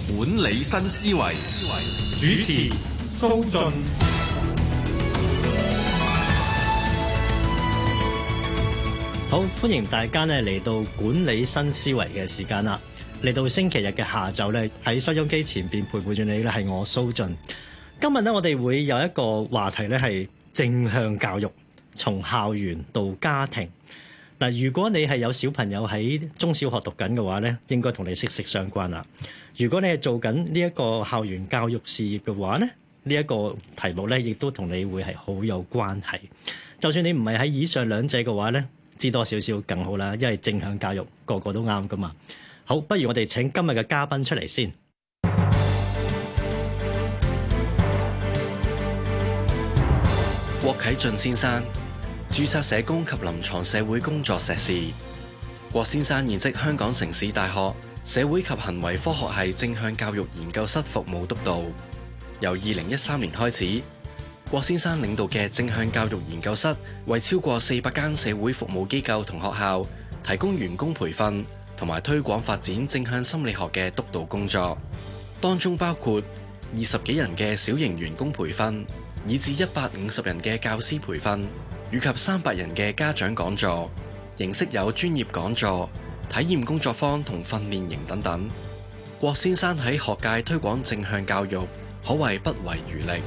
管理新思維， 主持蘇雋。 好，歡迎大家咧嚟到管理新思維嘅時間啦。嚟到星期日嘅下晝咧，喺收音機前邊陪伴住你咧係我蘇雋。今日咧我哋會有一個話題咧係正向教育，從校園到家庭。嗱，如果你係有小朋友喺中小學讀緊嘅話咧，應該同你息息相關啦。如果你係做緊呢一個校園教育事業嘅話咧，呢一個題目咧亦都同你會係好有關係。就算你唔係喺以上兩者嘅話咧，知多少少更好啦，因為正向教育個個都啱噶嘛。好，不如我哋請今日嘅嘉賓出嚟先。 郭啟俊先生，註冊社工及臨床社會工作碩士。郭先生現職香港城市大學社會及行為科學系正向教育研究室服務督導。由2013年開始，郭先生領導嘅正向教育研究室為超過400間社會服務機構同學校提供員工培訓同埋推廣發展正向心理學嘅督導工作，當中包括20幾人嘅小型員工培訓，以至150人嘅教師培訓，以及300人嘅家長講座，形式有專業講座、體驗工作坊同訓練營等等。郭先生喺學界推廣正向教育，可謂不遺餘力。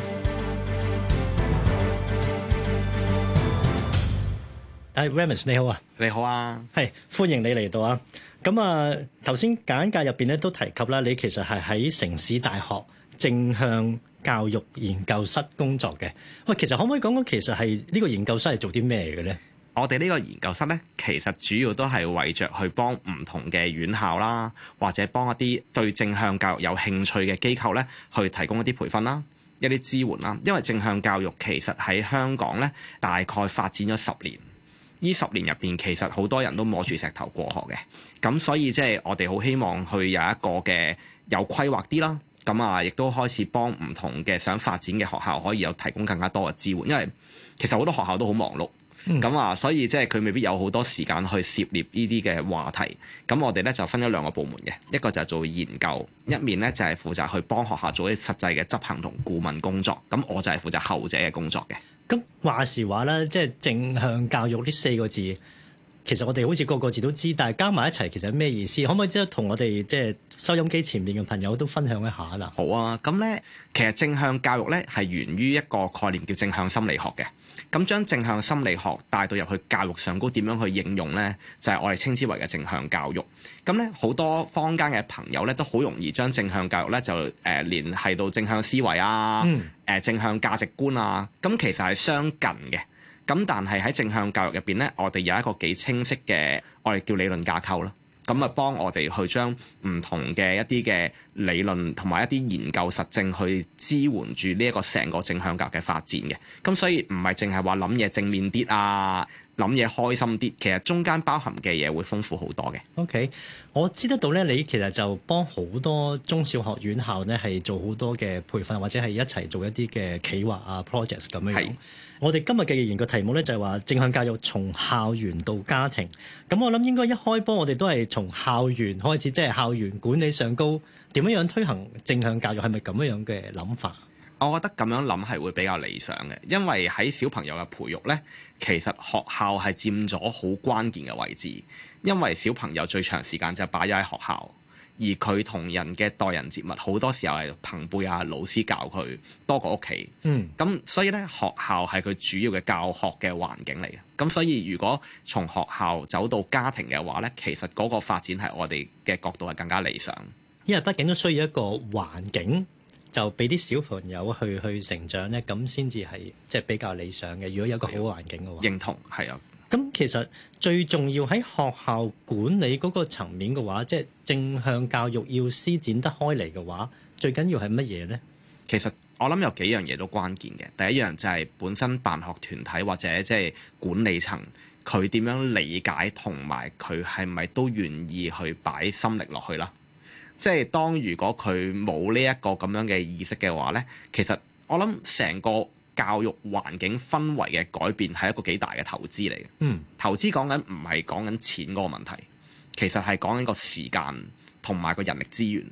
Remus 你好啊。 你好啊， 係歡迎你嚟到啊。咁啊，頭先簡介入邊咧都提及啦，你其實係喺城市大學正向教育研究室工作嘅。喂，其實可唔可以講講其實係呢個研究室係做啲咩嘅咧？ 我哋呢個研究室咧，其實主要都係為着去幫唔同嘅院校啦，或者幫一啲對正向教育有興趣嘅機構咧，去提供一啲培訓啦、一啲支援啦。因為正向教育其實喺香港咧，大概發展咗10年。呢10年入邊，其實好多人都摸住石頭過河嘅，咁所以即係我哋好希望去有一個嘅有規劃啲啦，咁啊，亦都開始幫唔同嘅想發展嘅學校可以有提供更加多嘅支援，因為其實好多學校都好忙碌，咁啊，所以即係佢未必有好多時間去涉獵呢啲嘅話題。咁我哋咧就分咗2個部門嘅，一個就係做研究，一面咧就係負責去幫學校做啲實際嘅執行同顧問工作，咁我就係負責後者嘅工作嘅。 咁話時話啦，即係正向教育呢4個字，其實我哋好似個個字都知，但係加埋一齊其實係咩意思？可唔可以即係同我哋即係收音機前面嘅朋友都分享一下啦？ 好啊，咁咧其實正向教育咧係源於一個概念叫正向心理學嘅。咁將正向心理學帶到入去教育上高，點樣去應用呢？就係我哋稱之為嘅正向教育。咁咧好多坊間嘅朋友咧都好容易將正向教育咧就聯繫到正向思維啊、正向價值觀啊。咁其實係相近嘅。咁但係喺正向教育入邊咧，我哋有一個幾清晰嘅，我哋叫理論架構啦。咁啊，幫我哋去將唔同嘅一啲嘅理論同埋一啲研究實證去支援住呢一個成個正向教育嘅發展嘅。咁所以唔係淨係話諗嘢正面啲啊，諗嘢開心啲，其實中間包含嘅嘢會豐富好多嘅。 OK， 我知得到咧，你其實就幫好多中小學院校咧係做好多嘅培訓，或者係一齊做一啲嘅企劃啊 projects 咁樣。我哋今日嘅研究題目咧就係話正向教育從校園到家庭。咁我諗應該一開波我哋都係從校園開始，即係校園管理上高點樣推行正向教育，係咪咁樣嘅諗法？ 我覺得咁樣諗係會比較理想嘅，因為喺小朋友嘅培育呢，其實學校係佔咗好關鍵嘅位置，因為小朋友最長時間就擺咗喺學校。而佢同人嘅待人接物好多時候係朋輩啊、老師教佢多過屋企。咁所以咧學校係佢主要嘅教學嘅環境嚟嘅。咁所以如果從學校走到家庭嘅話咧，其實嗰個發展係我哋嘅角度係更加理想。 因為畢竟都需要一個環境，就俾啲小朋友去成長咧，咁先至係即係比較理想嘅。如果有一個好環境嘅話， 認同係啊。 咁其實最重要喺學校管理嗰個層面嘅話，即係正向教育要施展得開嚟嘅話，最緊要係乜嘢呢？ 其實我諗有幾樣嘢都關鍵嘅。第一樣就係本身辦學團體或者即係管理層，佢點樣理解同埋佢係咪都願意去擺心力落去啦。即係當如果佢冇呢一個咁樣嘅意識嘅話呢，其實我諗成個教育環境氛圍嘅改變係一個幾大嘅投資嚟嘅。投資講緊唔係講緊錢嗰個問題，其實係講緊個時間同埋個人力資源。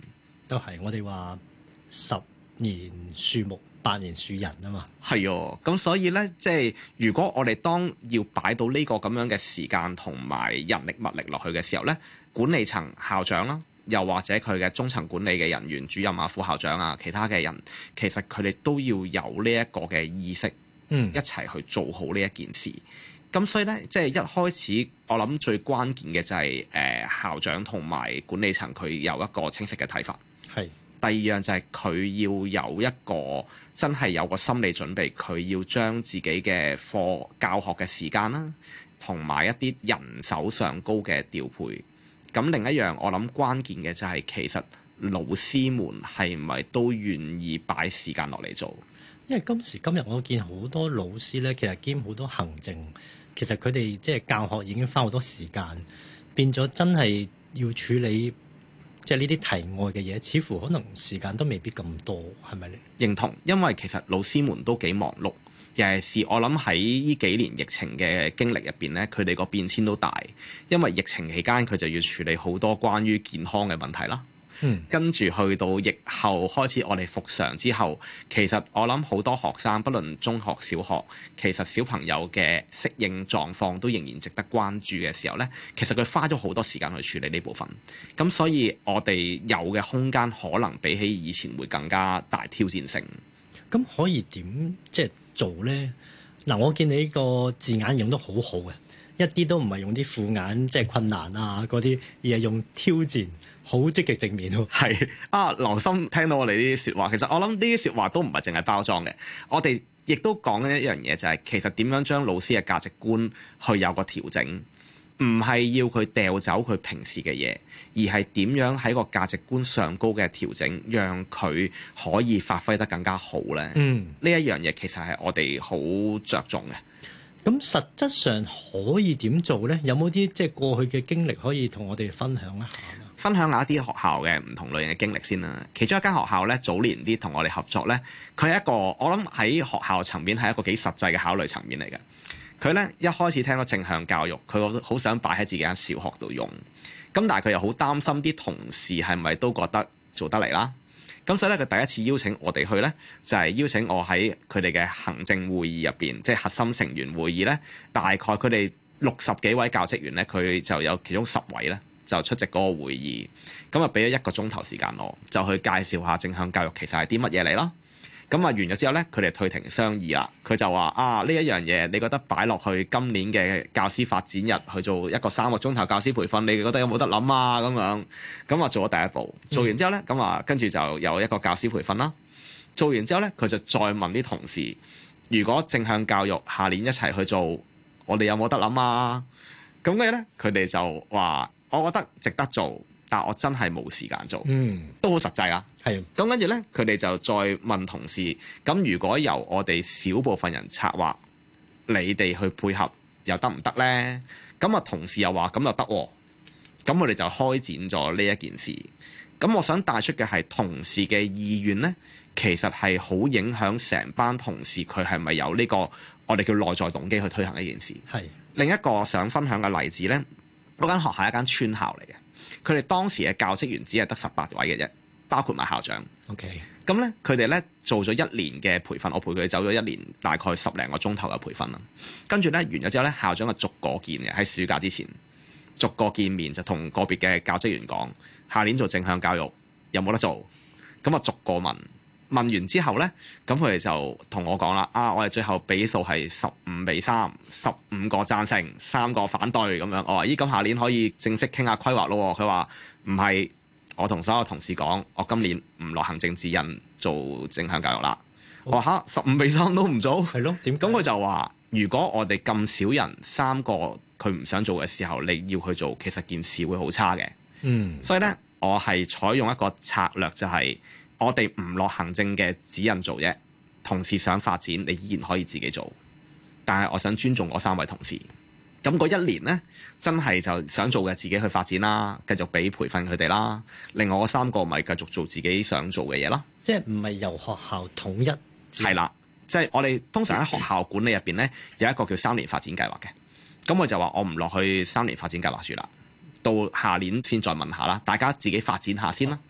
都係我哋話10年樹木，8年樹人啊嘛。 係哦，咁所以咧，即係如果我哋當要擺到呢個咁樣嘅時間同埋人力物力落去嘅時候咧，管理層校長啦，又或者佢嘅中層管理嘅人員、主任啊、副校長啊、其他嘅人，其實佢哋都要有呢一個嘅意識，一齊去做好呢一件事。咁所以咧，即係一開始我諗最關鍵嘅就係校長同埋管理層佢有一個清晰嘅睇法。 係。 第二樣就係佢要有一個真係有個心理準備，佢要將自己嘅課教學嘅時間啦，同埋一啲人手上高嘅調配。咁另一樣我諗關鍵嘅就係其實老師們係咪都願意擺時間落嚟做？ 因為今時今日我見好多老師咧，其實兼好多行政，其實佢哋即係教學已經花好多時間，變咗真係要處理即係呢啲題外嘅嘢，似乎可能時間都未必咁多，係咪咧？認同，因為其實老師們都幾忙碌，尤其是我諗喺呢幾年疫情嘅經歷入邊咧，佢哋個變遷都大，因為疫情期間佢就要處理好多關於健康嘅問題啦。跟住去到疫後開始，我哋復常之後，其實我諗好多學生，不論中學、小學，其實小朋友嘅適應狀況都仍然值得關注嘅時候呢，其實佢花咗好多時間去處理呢部分。咁所以我哋有嘅空間可能比起以前會更加大挑戰性。 咁可以點即係做呢？嗱，我見你呢個字眼用得好好嘅，一啲都唔係用啲負眼即係困難啊嗰啲，而係用挑戰。好積極正面喎， 係啊！留心聽到我哋呢啲説話，其實我諗呢啲説話都唔係淨係包裝嘅。我哋亦都講緊一樣嘢，就係其實點樣將老師嘅價值觀去有個調整，唔係要佢掉走佢平時嘅嘢，而係點樣喺個價值觀上高嘅調整，讓佢可以發揮得更加好咧。呢一樣嘢其實係我哋好着重嘅。 咁實質上可以點做咧？有冇啲即係過去嘅經歷可以同我哋分享一下？ 分享下一啲學校嘅唔同類型嘅經歷先啦。其中一間學校咧，早年啲同我哋合作咧，佢係一個我諗喺學校層面係一個幾實際嘅考慮層面嚟嘅。佢咧一開始聽到正向教育，佢好想擺喺自己間小學度用。咁但係佢又好擔心啲同事係咪都覺得做得嚟啦。咁所以咧，佢第一次邀請我哋去咧，就係邀請我喺佢哋嘅行政會議入邊，即係核心成員會議咧，大概佢哋60幾位教職員咧，佢就有其中10位咧，就出席嗰個會議，咁啊俾咗1個鐘頭時間我，就去介紹下正向教育其實係啲乜嘢嚟咯。咁啊完咗之後咧，佢哋退庭商議啦。佢就話啊，呢一樣嘢，你覺得擺落去今年嘅教師發展日去做一個3個鐘頭教師培訓，你覺得有冇得諗啊？咁樣咁啊做咗第一步，做完之後咧，咁啊跟住就有一個教師培訓啦。做完之後咧，佢就再問啲同事，如果正向教育下年一齊去做，我哋有冇得諗啊？咁嘅咧，佢哋就話。我覺得值得做，但我真係冇時間做，都好實際啊。係咁跟住咧，佢哋就再問同事：咁如果由我哋少部分人策劃，你哋去配合又得唔得咧？咁啊，同事又話咁又得喎。咁我哋就開展咗呢一件事。咁我想帶出嘅係同事嘅意願咧，其實係好影響成班同事佢係咪有呢個我哋叫內在動機去推行呢件事。係另一個想分享嘅例子咧。嗰間學校係一間村校嚟嘅，佢哋當時嘅教職員只係得18位嘅啫，包括埋校長。OK，咁咧佢哋咧做咗1年嘅培訓，我陪佢哋走咗1年，大概10零個鐘頭嘅培訓啦。跟住咧完咗之後咧，校長就逐個見嘅，喺暑假之前逐個見面，就同個別嘅教職員講，下年做正向教育有冇得做？咁啊逐個問。問完之後咧，咁佢哋就同我講啦，我哋最後比數係15-3，15個贊成，3個反對咁樣。我話咦，咁下年可以正式傾下規劃咯。佢話唔係，我同所有同事講，我今年唔落行政指引做正向教育啦。我話嚇15-3都唔做，係咯？點？咁佢就話，如果我哋咁少人，3個佢唔想做嘅時候，你要去做，其實件事會好差嘅。所以咧，我係採用一個策略，就係。我哋唔落行政嘅指引做啫，同事想發展，你依然可以自己做。但係我想尊重嗰3位同事。咁嗰1年呢，真係就想做嘅自己去發展啦，繼續俾培訓佢哋啦。另外嗰3個咪繼續做自己想做嘅嘢啦。即係唔係由學校統一？係啦，即係我哋通常喺學校管理入邊呢，有一個叫3年發展計劃嘅。咁我就話我唔落去3年發展計劃住啦，到下年先再問下啦，大家自己發展下先啦。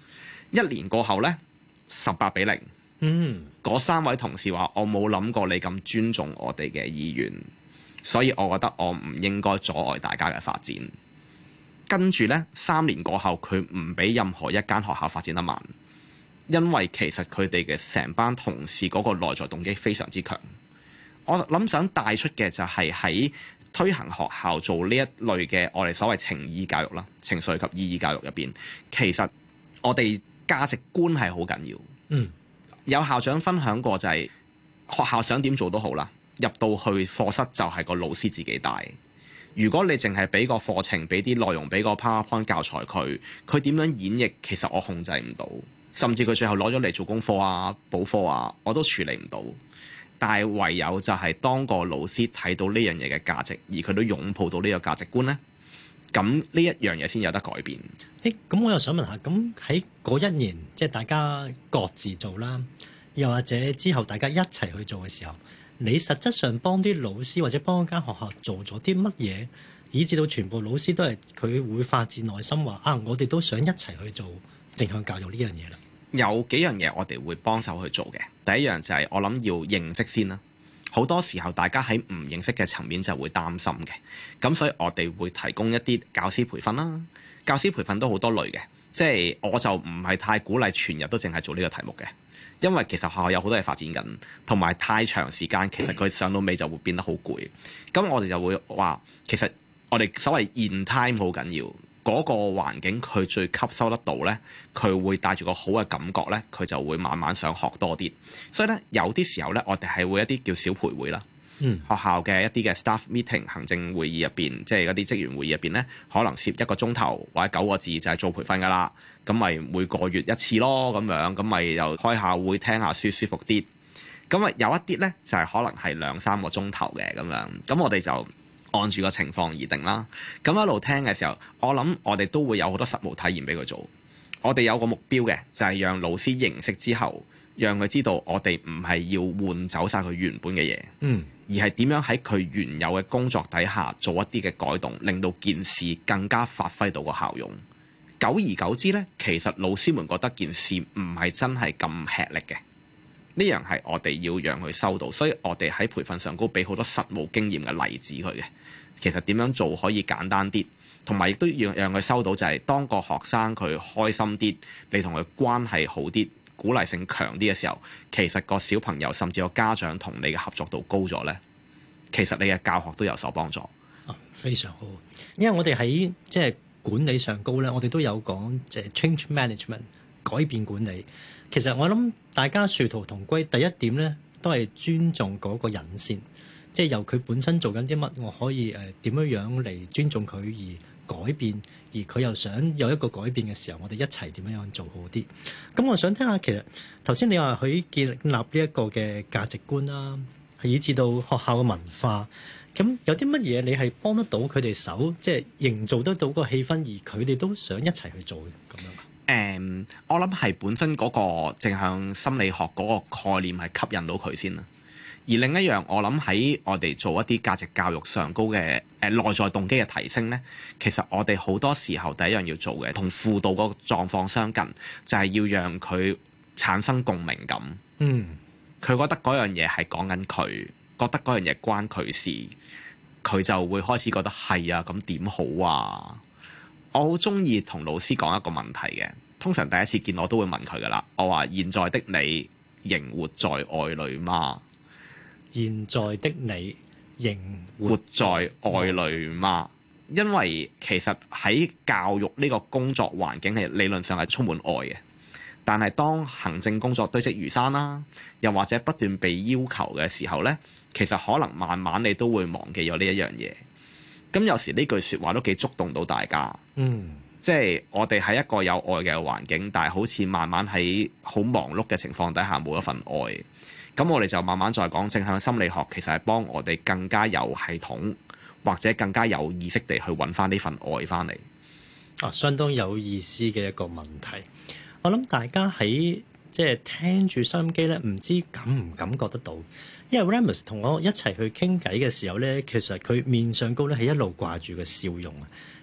1年過後呢，18-0。嗰3位同事話：我冇諗過你咁尊重我哋嘅意願，所以我覺得我唔應該阻礙大家嘅發展。跟住呢，3年過後，佢唔俾任何一間學校發展得慢，因為其實佢哋嘅成班同事嗰個內在動機非常之強。我諗想帶出嘅就係喺推行學校做呢一類嘅我哋所謂情意教育啦、情緒及意義教育入邊，其實我哋價值觀係好緊要。有校長分享過就係學校想點做都好啦，入到去課室就係個老師自己帶。如果你淨係俾個課程、俾啲內容、俾個 PowerPoint 教材佢點樣演繹，其實我控制唔到，甚至佢最後攞咗嚟做功課啊、補課啊，我都處理唔到。但係唯有就係當個老師睇到呢樣嘢嘅價值，而佢都擁抱到呢個價值觀呢，咁呢一樣嘢先有得改變。 咁我又想問下，咁喺嗰1年，即係大家各自做啦，又或者之後大家一齊去做嘅時候，你實質上幫啲老師或者幫間學校做咗啲乜嘢，以至到全部老師都係佢會發自內心話啊，我哋都想一齊去做正向教育呢樣嘢啦。 有幾樣嘢我哋會幫手去做嘅。第一樣就係我諗要認識先啦。好多時候大家喺唔認識嘅層面就會擔心嘅，咁所以我哋會提供一啲教師培訓啦。教師培訓都好多類嘅，即係我就唔係太鼓勵全日都淨係做呢個題目嘅，因為其實學校有好多嘢發展緊，同埋太長時間，其實佢上到尾就會變得好攰。咁我哋就會話，其實我哋所謂 in time 好緊要，嗰個環境佢最吸收得到呢，佢會帶住個好嘅感覺呢，佢就會慢慢想學多啲。所以呢，有啲時候呢，我哋係會一啲叫小培會啦。學校嘅一啲嘅 staff meeting 行政會議入邊，即係嗰啲職員會議入邊呢，可能攝1個鐘頭或者9個字就係做培訓㗎啦。咁咪每個月1次咯，咁樣咁咪又開下會聽下書舒服啲。咁啊有一啲呢，就係可能係2-3個鐘頭嘅咁樣，咁我哋就按住個情況而定啦。咁一路聽嘅時候，我諗我哋都會有好多實務體驗俾佢做。我哋有個目標嘅，就係讓老師認識之後，讓佢知道我哋唔係要換走晒佢原本嘅嘢，而係點樣喺佢原有嘅工作底下做一啲嘅改動，令到件事更加發揮到個效用。久而久之呢，其實老師們覺得件事唔係真係咁吃力嘅。呢樣係我哋要讓佢收到，所以我哋喺培訓上高俾好多實務經驗嘅例子佢嘅。其實點樣做可以簡單啲，同埋亦都要讓佢收到就係當個學生佢開心啲，你同佢關係好啲，鼓勵性強啲嘅時候，其實個小朋友甚至個家長同你嘅合作度高咗呢，其實你嘅教學都有所幫助。 非常好，因為我哋喺即係管理上高咧，我哋都有講即係 change management 改變管理。其實我諗大家殊途同歸，第一點咧都係尊重嗰個人先，即係由佢本身做緊啲乜，我可以點樣嚟尊重佢而改變，而佢又想有一個改變嘅時候，我哋一齊點樣做好啲。咁我想聽下，其實頭先你話佢建立呢一個嘅價值觀啦，以至到學校嘅文化，咁有啲乜嘢你係幫得到佢哋手，即係營造得到個氣氛，而佢哋都想一齊去做嘅咁樣。 我諗係本身嗰個正向心理學嗰個概念係吸引到佢先啦。而另一樣，我諗喺我哋做一啲價值教育上高嘅內在動機嘅提升呢，其實我哋好多時候第一樣要做嘅，同輔導個狀況相近，就係要讓佢產生共鳴感。佢覺得嗰樣嘢係講緊佢，覺得嗰樣嘢關佢事，佢就會開始覺得係啊，咁點好啊？我好中意同老師講一個問題嘅，通常第一次見我都會問佢噶啦。我話：現在的你仍活在愛裏嗎？ 現在的你仍活在愛裏嗎？因為其實喺教育呢個工作環境係理論上係充滿愛嘅，但係當行政工作堆積如山啦，又或者不斷被要求嘅時候呢，其實可能慢慢你都會忘記咗呢一樣嘢。咁有時呢句説話都幾觸動到大家。即係我哋喺一個有愛嘅環境，但係好似慢慢喺好忙碌嘅情況底下冇一份愛。咁我哋就慢慢再講正向心理學，其實係幫我哋更加有系統或者更加有意識地去揾翻呢份愛翻嚟。 相當有意思嘅一個問題。我諗大家喺即係聽住收音機咧，唔知感唔感覺得到？因為 Remus 同我一齊去傾偈嘅時候咧，其實佢面上高咧係一路掛住個笑容啊。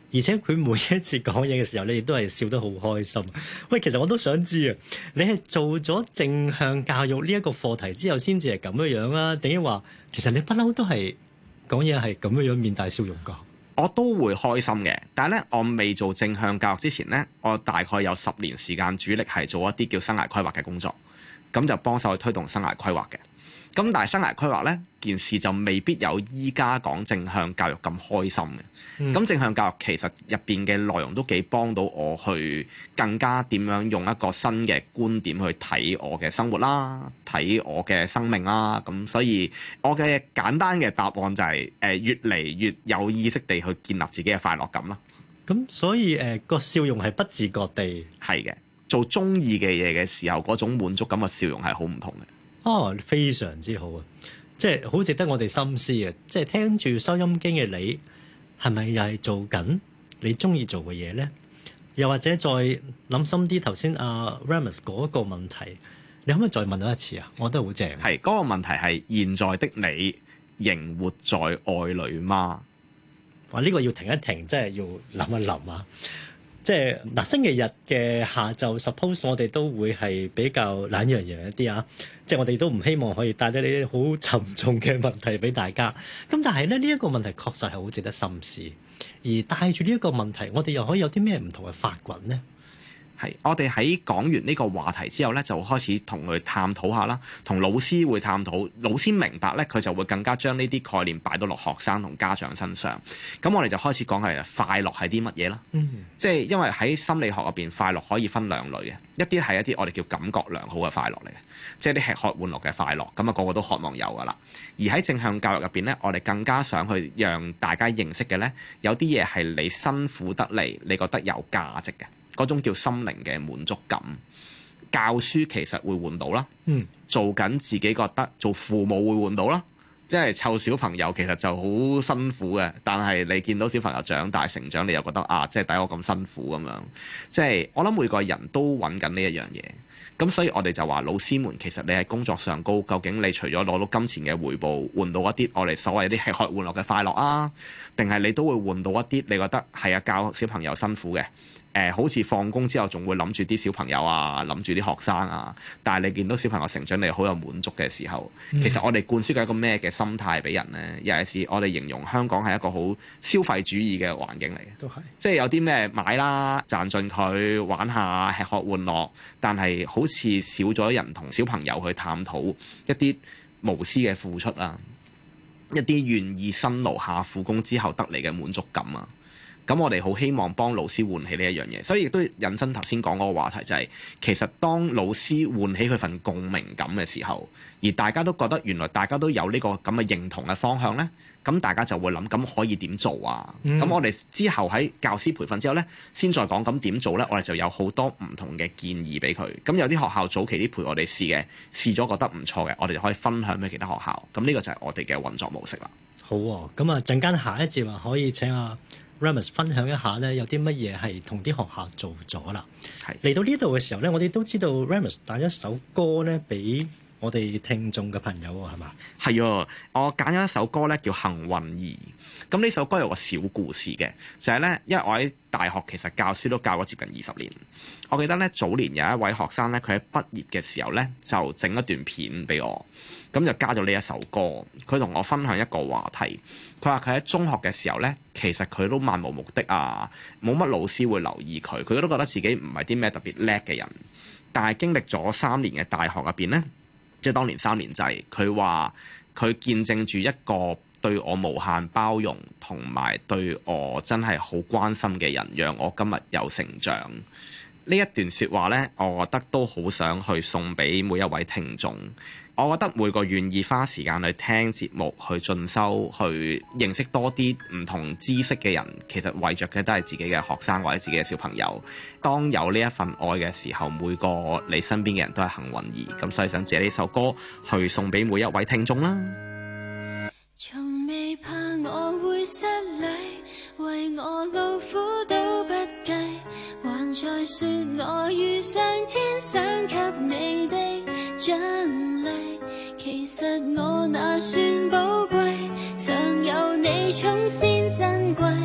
而且佢每一次講嘢嘅時候，你亦都係笑得好開心。喂，其實我都想知啊，你係做咗正向教育呢一個課題之後，先至係咁樣啊？定係話其實你不嬲都係講嘢係咁樣面帶笑容㗎？ 我都會開心嘅，但係咧，我未做正向教育之前咧，我大概有10年時間主力係做一啲叫生涯規劃嘅工作，咁就幫手去推動生涯規劃嘅。咁但係生涯規劃呢件事就未必有依家講正向教育咁開心嘅。咁正向教育其實入邊嘅內容都幾幫到我去更加點樣用一個新嘅觀點去睇我嘅生活啦，睇我嘅生命啦。咁所以我嘅簡單嘅答案就係越嚟越有意識地去建立自己嘅快樂感啦。 咁所以個笑容係不自覺地係嘅，做中意嘅嘢嘅時候嗰種滿足感嘅笑容係好唔同嘅。 哦，非常之好啊！即係好值得我哋深思啊！即係聽住收音機嘅你，係咪又係做緊你中意做嘅嘢咧？又或者再諗深啲，頭先阿 Remus 嗰個問題，你可唔可以再問多一次啊？我覺得好正。 係嗰個問題係現在的你仍活在愛裡嗎？ 哇！呢個要停一停，真係要諗一諗啊！即係嗱，星期日嘅下晝 suppose 我哋都會係比較懶洋洋一啲啊！即係我哋都唔希望可以帶咗呢啲好沉重嘅問題俾大家。咁但係咧，呢一個問題確實係好值得深思。而帶住呢一個問題，我哋又可以有啲咩唔同嘅發掘呢？ 係，我哋喺講完呢個話題之後咧，就開始同佢探討下啦，同老師會探討，老師明白咧，佢就會更加將呢啲概念擺到落學生同家長身上。咁我哋就開始講係快樂係啲乜嘢啦。即係因為喺心理學入邊，快樂可以分兩類嘅，一啲係一啲我哋叫感覺良好嘅快樂嚟嘅，即係啲吃喝玩樂嘅快樂，咁啊個個都渴望有噶啦。而喺正向教育入邊咧，我哋更加想去讓大家認識嘅咧，有啲嘢係你辛苦得嚟，你覺得有價值嘅。嗰種叫心靈嘅滿足感，教書其實會換到啦。做緊自己覺得做父母會換到啦，即係湊小朋友其實就好辛苦嘅，但係你見到小朋友長大成長，你又覺得啊，即係抵我咁辛苦咁樣。即係我諗每個人都揾緊呢一樣嘢，咁所以我哋就話老師們其實你喺工作上高，究竟你除咗攞到金錢嘅回報，換到一啲我哋所謂啲吃喝玩樂嘅快樂啊，定係你都會換到一啲你覺得係啊教小朋友辛苦嘅？好似放工之後仲會諗住啲小朋友啊，諗住啲學生啊，但係你見到小朋友成長，你好有滿足嘅時候，其實我哋灌輸緊一個咩嘅心態俾人呢？尤其是我哋形容香港係一個好消費主義嘅環境嚟嘅， 都係即係有啲咩買啦，賺盡佢玩下吃喝玩樂，但係好似少咗人同小朋友去探討一啲無私嘅付出啊，一啲願意辛勞下苦功之後得嚟嘅滿足感啊。咁我哋好希望幫老師喚起呢一樣嘢，所以亦都引申頭先講嗰個話題，就係其實當老師喚起佢份共鳴感嘅時候，而大家都覺得原來大家都有呢個咁嘅認同嘅方向呢，咁大家就會諗咁可以點做啊？咁我哋之後喺教師培訓之後呢，先再講咁點做呢，我哋就有好多唔同嘅建議俾佢。咁有啲學校早期啲陪我哋試嘅，試咗覺得唔錯嘅，我哋就可以分享俾其他學校。咁呢個就係我哋嘅運作模式啦。 好喎，咁啊陣間下一節話可以請阿Remus 分享一下咧，有啲乜嘢係同啲學校做咗啦？嚟到呢度嘅時候咧，我哋都知道 Remus 帶一首歌咧俾我哋聽眾嘅朋友喎，係嘛？ 係啊，我揀咗一首歌咧叫《幸運兒》。咁呢首歌有個小故事嘅，就係咧，因為我喺大學其實教書都教咗接近20年。我記得咧早年有一位學生咧，佢喺畢業嘅時候咧就整一段片俾我，咁就加咗呢一首歌。佢同我分享一個話題，佢話佢喺中學嘅時候咧，其實佢都漫無目的啊，冇乜老師會留意佢，佢都覺得自己唔係啲咩特別叻嘅人。但係經歷咗3年嘅大學入邊咧，即係當年3年制，佢話佢見證住一個對我無限包容同埋對我真係好關心嘅人，讓我今日有成長。呢一段説話呢，我覺得都好想去送俾每一位聽眾。我覺得每個願意花時間去聽節目、去進修、去認識多啲唔同知識嘅人，其實為着嘅都係自己嘅學生或者自己嘅小朋友。當有呢一份愛嘅時候，每個你身邊嘅人都係幸運兒。咁所以想借呢首歌去送俾每一位聽眾啦。 從未怕我會失禮，為我勞苦都不計，還在說我遇上天想給你的獎勵。其實我那算寶貴，常有你寵先珍貴，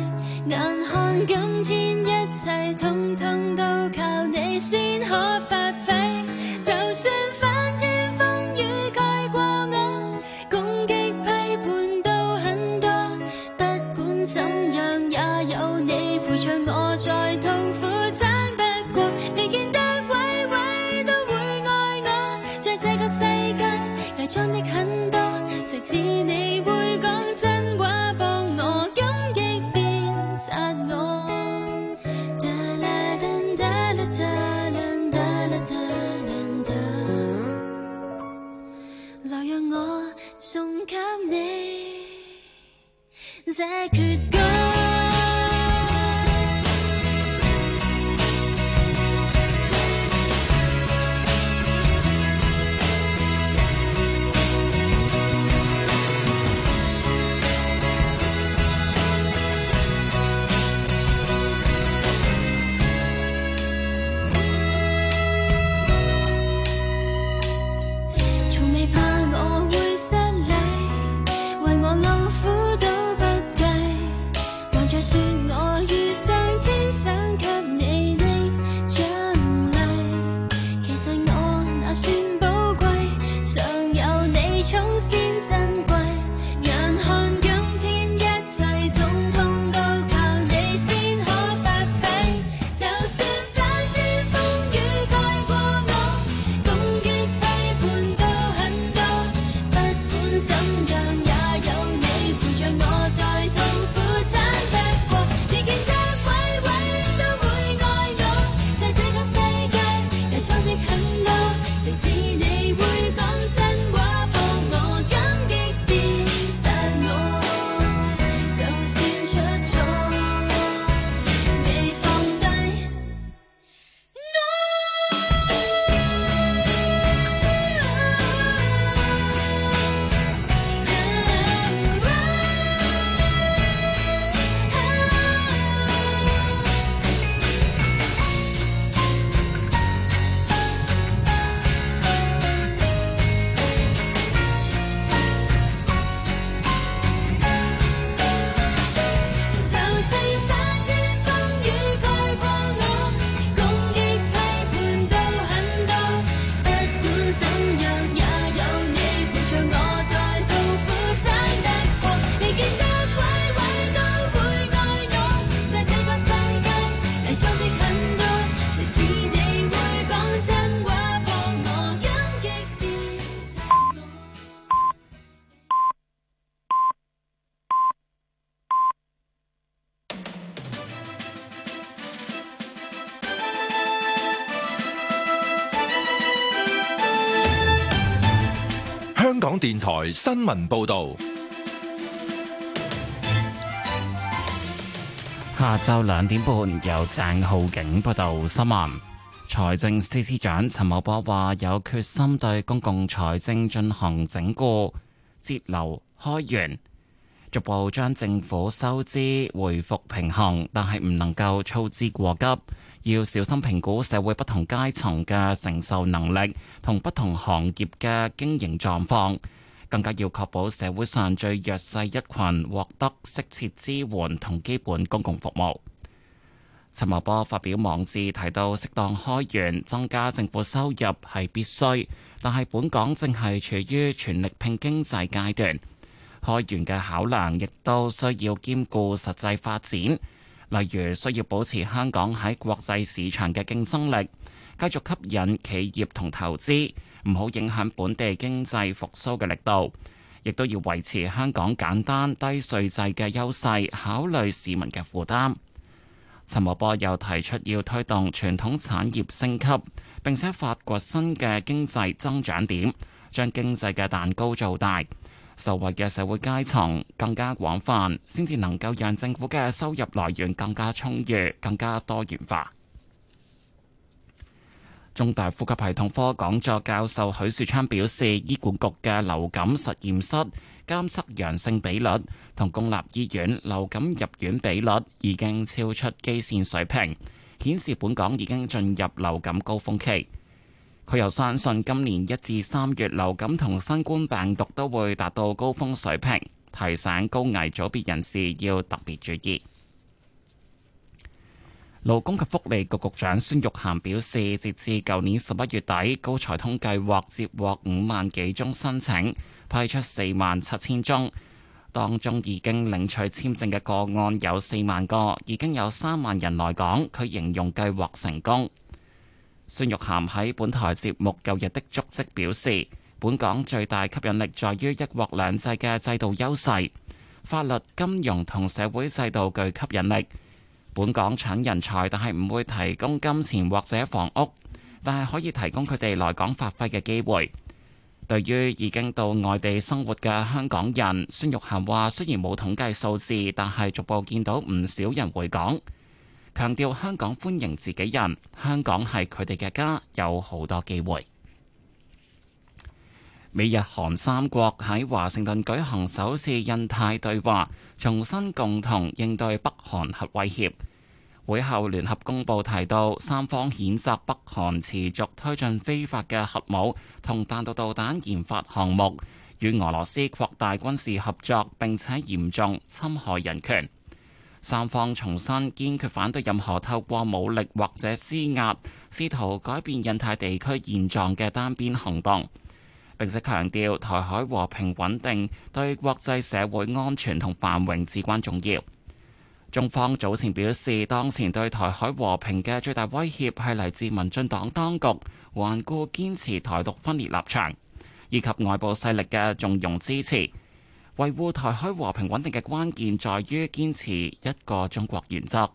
眼看今天一切通通都靠你先可發揮，就算反天風雨蓋過我，攻擊批判都很多，不管怎樣也有你陪着我，再痛苦撐得過，你見得位位都會愛我，在這個世界偽裝的很多，誰知你會講真話幫我，感激變殺我。來讓我送給你這闕歌。 香港電台新聞報道， 下晝2點半由鄭浩景報道新聞。財政司司長陳茂波話有決心對公共財政進行整固、節流、開源，逐步將政府收支回復平衡，但係唔能夠操之過急，要小心評估社會不同階層嘅承受能力同不同行業嘅經營狀況，更加要確保社會上最弱勢一群獲得適切支援同基本公共服務。陳茂波發表網誌提到，適當開源增加政府收入係必須，但係本港正係處於全力拼經濟階段，開源嘅考量亦都需要兼顧實際發展，例如需要保持香港喺國際市場嘅競爭力，繼續吸引企業同投資，唔好影響本地經濟復甦嘅力度，亦都要維持香港簡單低稅制嘅優勢，考慮市民嘅負擔。陳茂波又提出要推動傳統產業升級，並且發掘新嘅經濟增長點，將經濟嘅蛋糕做大，受惠嘅社會階層更加廣泛，先至能夠讓政府嘅收入來源更加充裕、更加多元化。中大呼吸系統科講座教授許樹昌表示，醫管局嘅流感實驗室監測陽性比率同公立醫院流感入院比率已經超出基線水平，顯示本港已經進入流感高峰期。佢又相信今年1至3月流感同新冠病毒都會達到高峰水平，提醒高危組別人士要特別注意。 勞工及福利局局長孫玉菡表示，截至舊年11月底，高才通計劃接獲5萬幾宗申請，批出4萬7千宗，當中已經領取簽證嘅個案有4萬個，已經有3萬人來港。佢形容計劃成功。孫玉菡喺本台節目《舊日的足跡》表示，本港最大吸引力在於一國兩制嘅制度優勢，法律、金融同社會制度具吸引力。本港搶人才，但係唔會提供金錢或者房屋，但係可以提供佢哋來港發揮嘅機會。對於已經到外地生活嘅香港人，孫玉菡話：雖然冇統計數字，但係逐步見到唔少人回港，強調香港歡迎自己人，香港係佢哋嘅家，有好多機會。美日韓三國喺華盛頓舉行首次印太對話，重新共同應對北韓核威脅。會後聯合公報提到，三方譴責北韓持續推進非法嘅核武同彈道導彈研發項目，與俄羅斯擴大軍事合作，並且嚴重侵害人權。三方重申堅決反對任何透過武力或者施壓試圖改變印太地區現狀嘅單邊行動，並且強調台海和平穩定對國際社會安全同繁榮至關重要。中方早前表示，當前對台海和平嘅最大威脅係嚟自民進黨當局頑固堅持台獨分裂立場，以及外部勢力嘅縱容支持。維護台海和平穩定嘅關鍵在於堅持一個中國原則。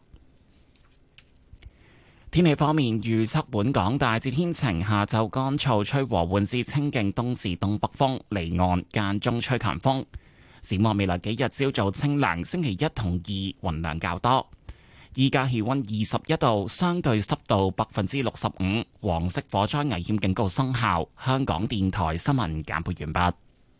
天氣方面，預測本港大致天晴，下晝乾燥，吹和緩至清勁東至東北風，離岸間中吹強風。展望未來幾日，朝早清涼，星期一同二雲量較多。依家氣溫21度，相對濕度65%，黃色火災危險警告生效。香港電台新聞簡報完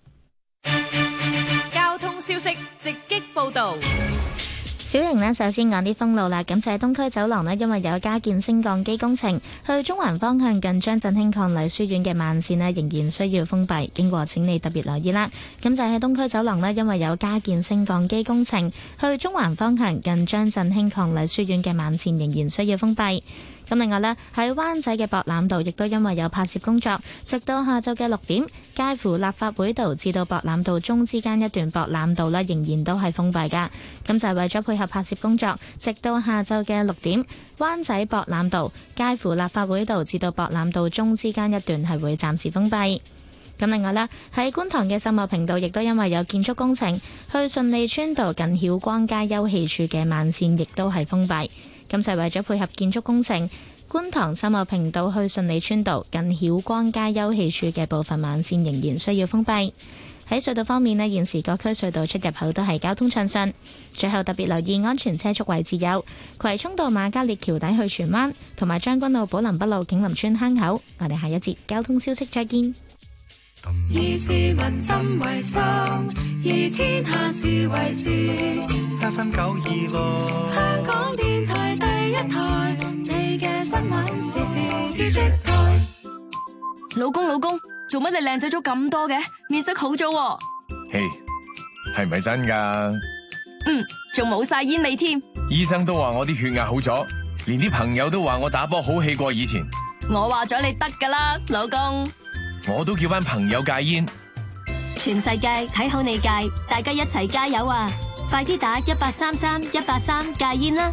畢。交通消息直擊報道。 小瑩呢，首先講啲封路啦。咁就係東區走廊呢，因為有加建升降機工程，去中環方向近張振興伉儷書院嘅慢線呢，仍然需要封閉，經過請你特別留意啦。咁就係東區走廊呢，因為有加建升降機工程，去中環方向近張振興伉儷書院嘅慢線仍然需要封閉。咁另外呢，喺灣仔嘅博覽道亦都因為有拍攝工作，直到下晝嘅6點，介乎立法會道至到博覽道中之間一段博覽道呢，仍然都係封閉噶。咁就係為咗配合拍攝工作，直到下晝嘅6點，灣仔博覽道介乎立法會道至到博覽道中之間一段係會暫時封閉。咁另外呢，喺觀塘嘅秀茂坪道亦都因為有建築工程，去順利村道近曉光街休憩處嘅慢線亦都係封閉。咁就係為咗配合建築工程，觀塘秀茂坪道去順利村道近曉光街休憩處嘅部分慢線仍然需要封閉。喺隧道方面呢，現時各區隧道出入口都係交通暢順。最後特別留意安全車速位置有葵涌道瑪嘉烈橋底去荃灣，同埋將軍澳寶林北路景林村坑口。我哋下一節交通消息再見。 以市民心為心，以天下事為事。FM926，香港電台第一台，你嘅新聞時事知識台。 老公，做乜你靚仔咗咁多嘅？面色好咗。 嘿，係咪真㗎？ 仲冇晒煙味添。 醫生都話我啲血壓好咗，連啲朋友都話我打波好氣過以前。 我話咗你得㗎啦，老公。 我都叫班朋友戒煙， 全世界睇好你戒，大家一齊加油啊！快啲打1833-183戒煙啦！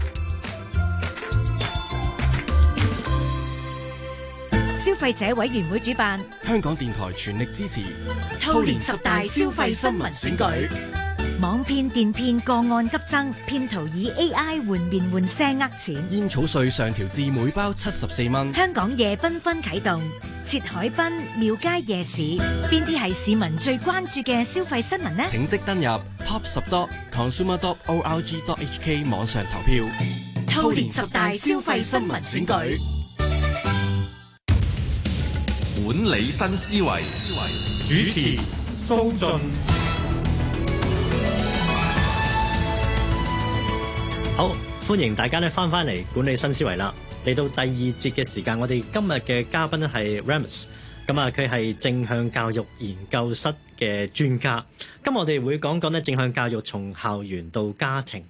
消費者委員會主辦， 香港電台全力支持兔年10大消費新聞選舉。網騙電騙個案急增，騙徒以 AI 換面換聲呃錢。 煙草稅上調至每包74蚊。 香港夜繽紛啟動，設海濱、廟街夜市，邊啲係市民最關注嘅消費新聞呢？ 請即登入 top10.consumer.org.hk 網上投票。 兔年10大消費新聞選舉。 管理新思維， 主持蘇雋。 好，歡迎大家咧翻嚟管理新思維啦。嚟到第二節嘅時間，我哋今日嘅嘉賓咧係 Remus， 咁啊佢係正向教育研究室嘅專家。今日我哋會講講咧正向教育從校園到家庭。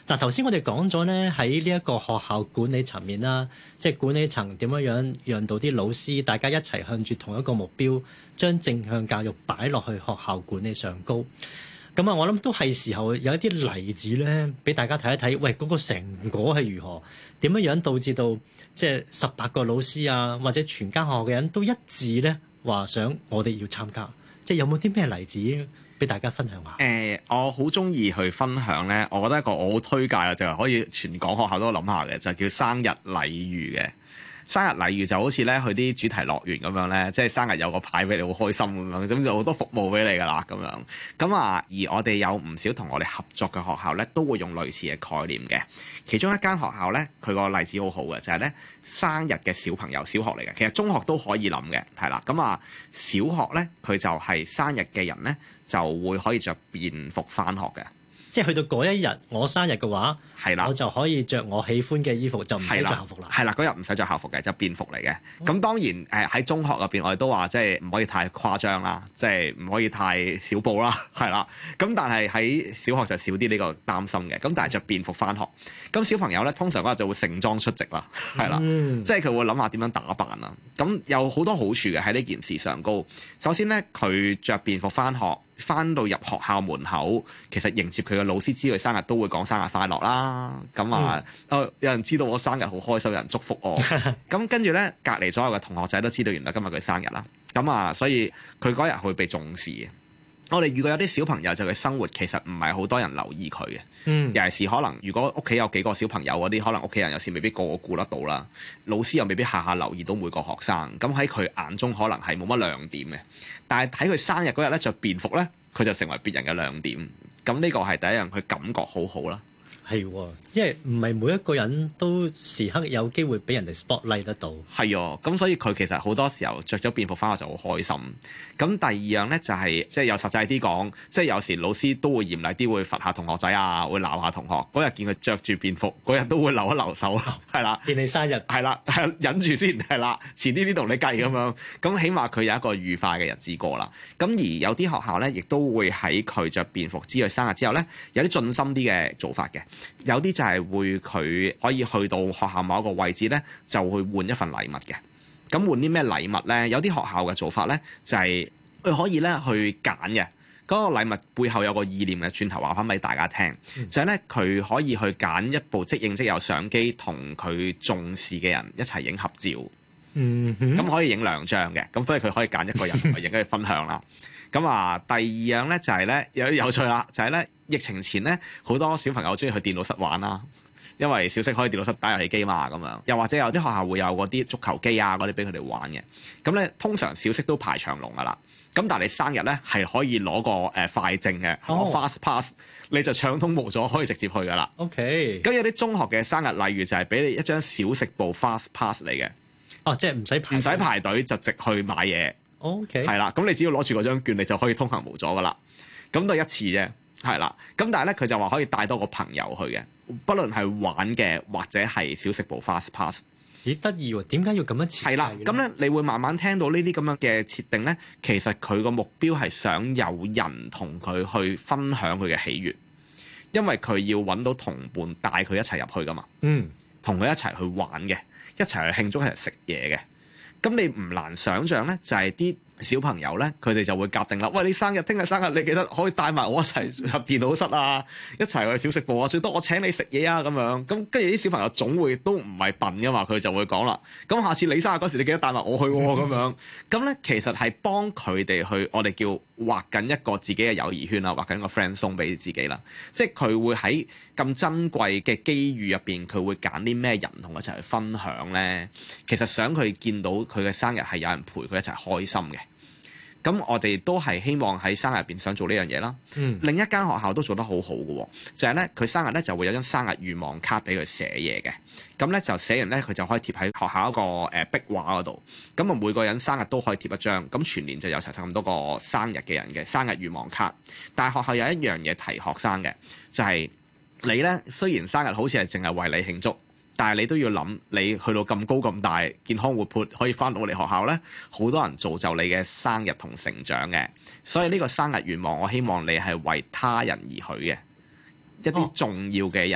嗱，頭先我哋講咗咧，喺呢一個學校管理層面啦，即係管理層點樣讓到啲老師大家一齊向住同一個目標，將正向教育擺落去學校管理上高。咁啊，我諗都係時候有一啲例子咧，俾大家睇一睇。喂，嗰個成果係如何？點樣導致到即係18個老師啊，或者全間學校嘅人都一致咧，話想我哋要參加。即係有冇啲咩例子俾大家分享下？ 我好中意去分享咧，我覺得一個我好推介啊，就係可以全港學校都諗下嘅，就叫生日禮遇嘅。生日禮遇就好似咧去啲主題樂園咁樣咧，即係生日有個牌俾你，好開心咁樣，咁就好多服務俾你噶啦咁樣。咁啊，而我哋有唔少同我哋合作嘅學校咧，都會用類似嘅概念嘅。其中一間學校咧，佢個例子好好嘅，就係咧生日嘅小朋友，小學嚟嘅，其實中學都可以諗嘅，係啦。咁啊，小學咧佢就係生日嘅人咧，就會可以着便服返學嘅。 即係去到嗰一日我生日嘅話， 係啦， 我就可以着我喜歡嘅衣服，就唔使着校服啦。 係啦，嗰日唔使着校服嘅，就便服嚟嘅。咁當然喺中學入邊，我哋都話即係唔可以太誇張啦，即係唔可以太少布啦，係啦。咁但係喺小學就少啲呢個擔心嘅。咁但係着便服返學，咁小朋友咧通常嗰日就會盛裝出席啦，係啦，即係佢會諗下點樣打扮啊。咁有好多好處嘅喺呢件事上高。首先咧，佢着便服返學。翻到入學校門口，其實迎接佢嘅老師知佢生日都會講生日快樂啦。咁啊，有人知道我生日好開心，有人祝福我。咁跟住咧，隔離所有嘅同學仔都知道原來今日佢生日啦。咁啊，所以佢嗰日會被重視嘅。我哋遇過有啲小朋友就佢生活其實唔係好多人留意佢嘅，尤其是可能如果屋企有幾個小朋友嗰啲，可能屋企人有時未必個個顧得到啦，老師又未必下下留意到每個學生。咁喺佢眼中可能係冇乜亮點嘅。但係喺佢生日嗰日咧着便服咧，佢就成為別人嘅亮點。咁呢個係第一樣，佢感覺好好啦。 係喎，即係唔係每一個人都時刻有機會俾人哋 spotlight 得到。 係喎，咁所以佢其實好多時候着咗便服返學就好開心。咁第二樣咧就係即係有實際啲講，即係有時老師都會嚴厲啲，會罰下同學仔啊，會鬧下同學。嗰日見佢着住便服，嗰日都會留一留手，係啦。 見你生日， 係啦，忍住先，係啦，遲啲先同你計咁樣。咁起碼佢有一個愉快嘅日子過啦。咁而有啲學校咧，亦都會喺佢着便服知佢生日之後咧，有啲盡心啲嘅做法嘅。有啲就係會佢可以去到學校某一個位置咧，就去換一份禮物嘅。咁換啲咩禮物咧？有啲學校嘅做法咧，就係佢可以咧去揀嘅。嗰個禮物背後有個意念嘅，轉頭話翻俾大家聽，就係咧佢可以去揀一部即影即有相機，同佢重視嘅人一齊影合照。咁可以影2張嘅，咁所以佢可以揀一個人去影，跟住分享啦。咁啊，第二樣咧就係咧有趣啦，就係咧疫情前咧好多小朋友中意去電腦室玩啦，因為小息可以電腦室打遊戲機嘛，咁樣又或者有啲學校會有嗰啲足球機啊嗰啲俾佢哋玩嘅。咁咧通常小息都排長龍噶啦，咁但係你生日咧係可以攞個快證嘅，fast pass， 你就暢通無阻可以直接去噶啦。 OK。 咁有啲中學嘅生日例如就係俾你一張小食部 fast pass 嚟嘅。 哦，即係唔使排隊就直去買嘢。 OK。 係啦，咁你只要攞住嗰張券，你就可以通行無阻噶啦。咁都係一次啫，係啦。咁但係咧，佢就話可以帶多個朋友去嘅，不論係玩嘅或者係小食部 fast pass。 幾得意喎？點解要咁樣設計？ 係啦，咁咧你會慢慢聽到呢啲咁樣嘅設定咧，其實佢個目標係想有人同佢去分享佢嘅喜悅，因為佢要揾到同伴帶佢一齊入去噶嘛。同佢一齊去玩嘅，一齊去慶祝，一齊食嘢嘅。咁你唔難想像咧，就係啲小朋友咧，佢哋就會夾定啦。喂，你生日，聽日生日，你記得可以帶埋我一齊入電腦室啊，一齊去小食部啊，最多我請你食嘢啊咁樣。咁跟住啲小朋友總會都唔係笨噶嘛，佢就會講啦。咁下次你生日嗰時，你記得帶埋我去喎咁樣。咁咧其實係幫佢哋去，我哋叫畫緊一個自己嘅友誼圈啦，畫緊個 friend zone 俾自己啦。即係佢會喺咁珍貴嘅機遇入邊，佢會揀啲咩人同佢一齊去分享咧？其實想佢見到佢嘅生日係有人陪佢一齊開心嘅。咁我哋都係希望喺生日入邊想做呢樣嘢啦。另一間學校都做得好好嘅，就係咧佢生日咧就會有張生日願望卡俾佢寫嘢嘅。咁咧就寫完咧佢就可以貼喺學校一個壁畫嗰度。咁啊每個人生日都可以貼一張，咁全年就有齊咁多個生日嘅人嘅生日願望卡。但係學校有一樣嘢提學生嘅，就係你咧雖然生日好似係淨係為你慶祝，但係你都要諗，你去到咁高咁大，健康活潑，可以翻到我哋學校咧，好多人造就你嘅生日同成長嘅。所以呢個生日願望，我希望你係為他人而許嘅，一啲重要嘅人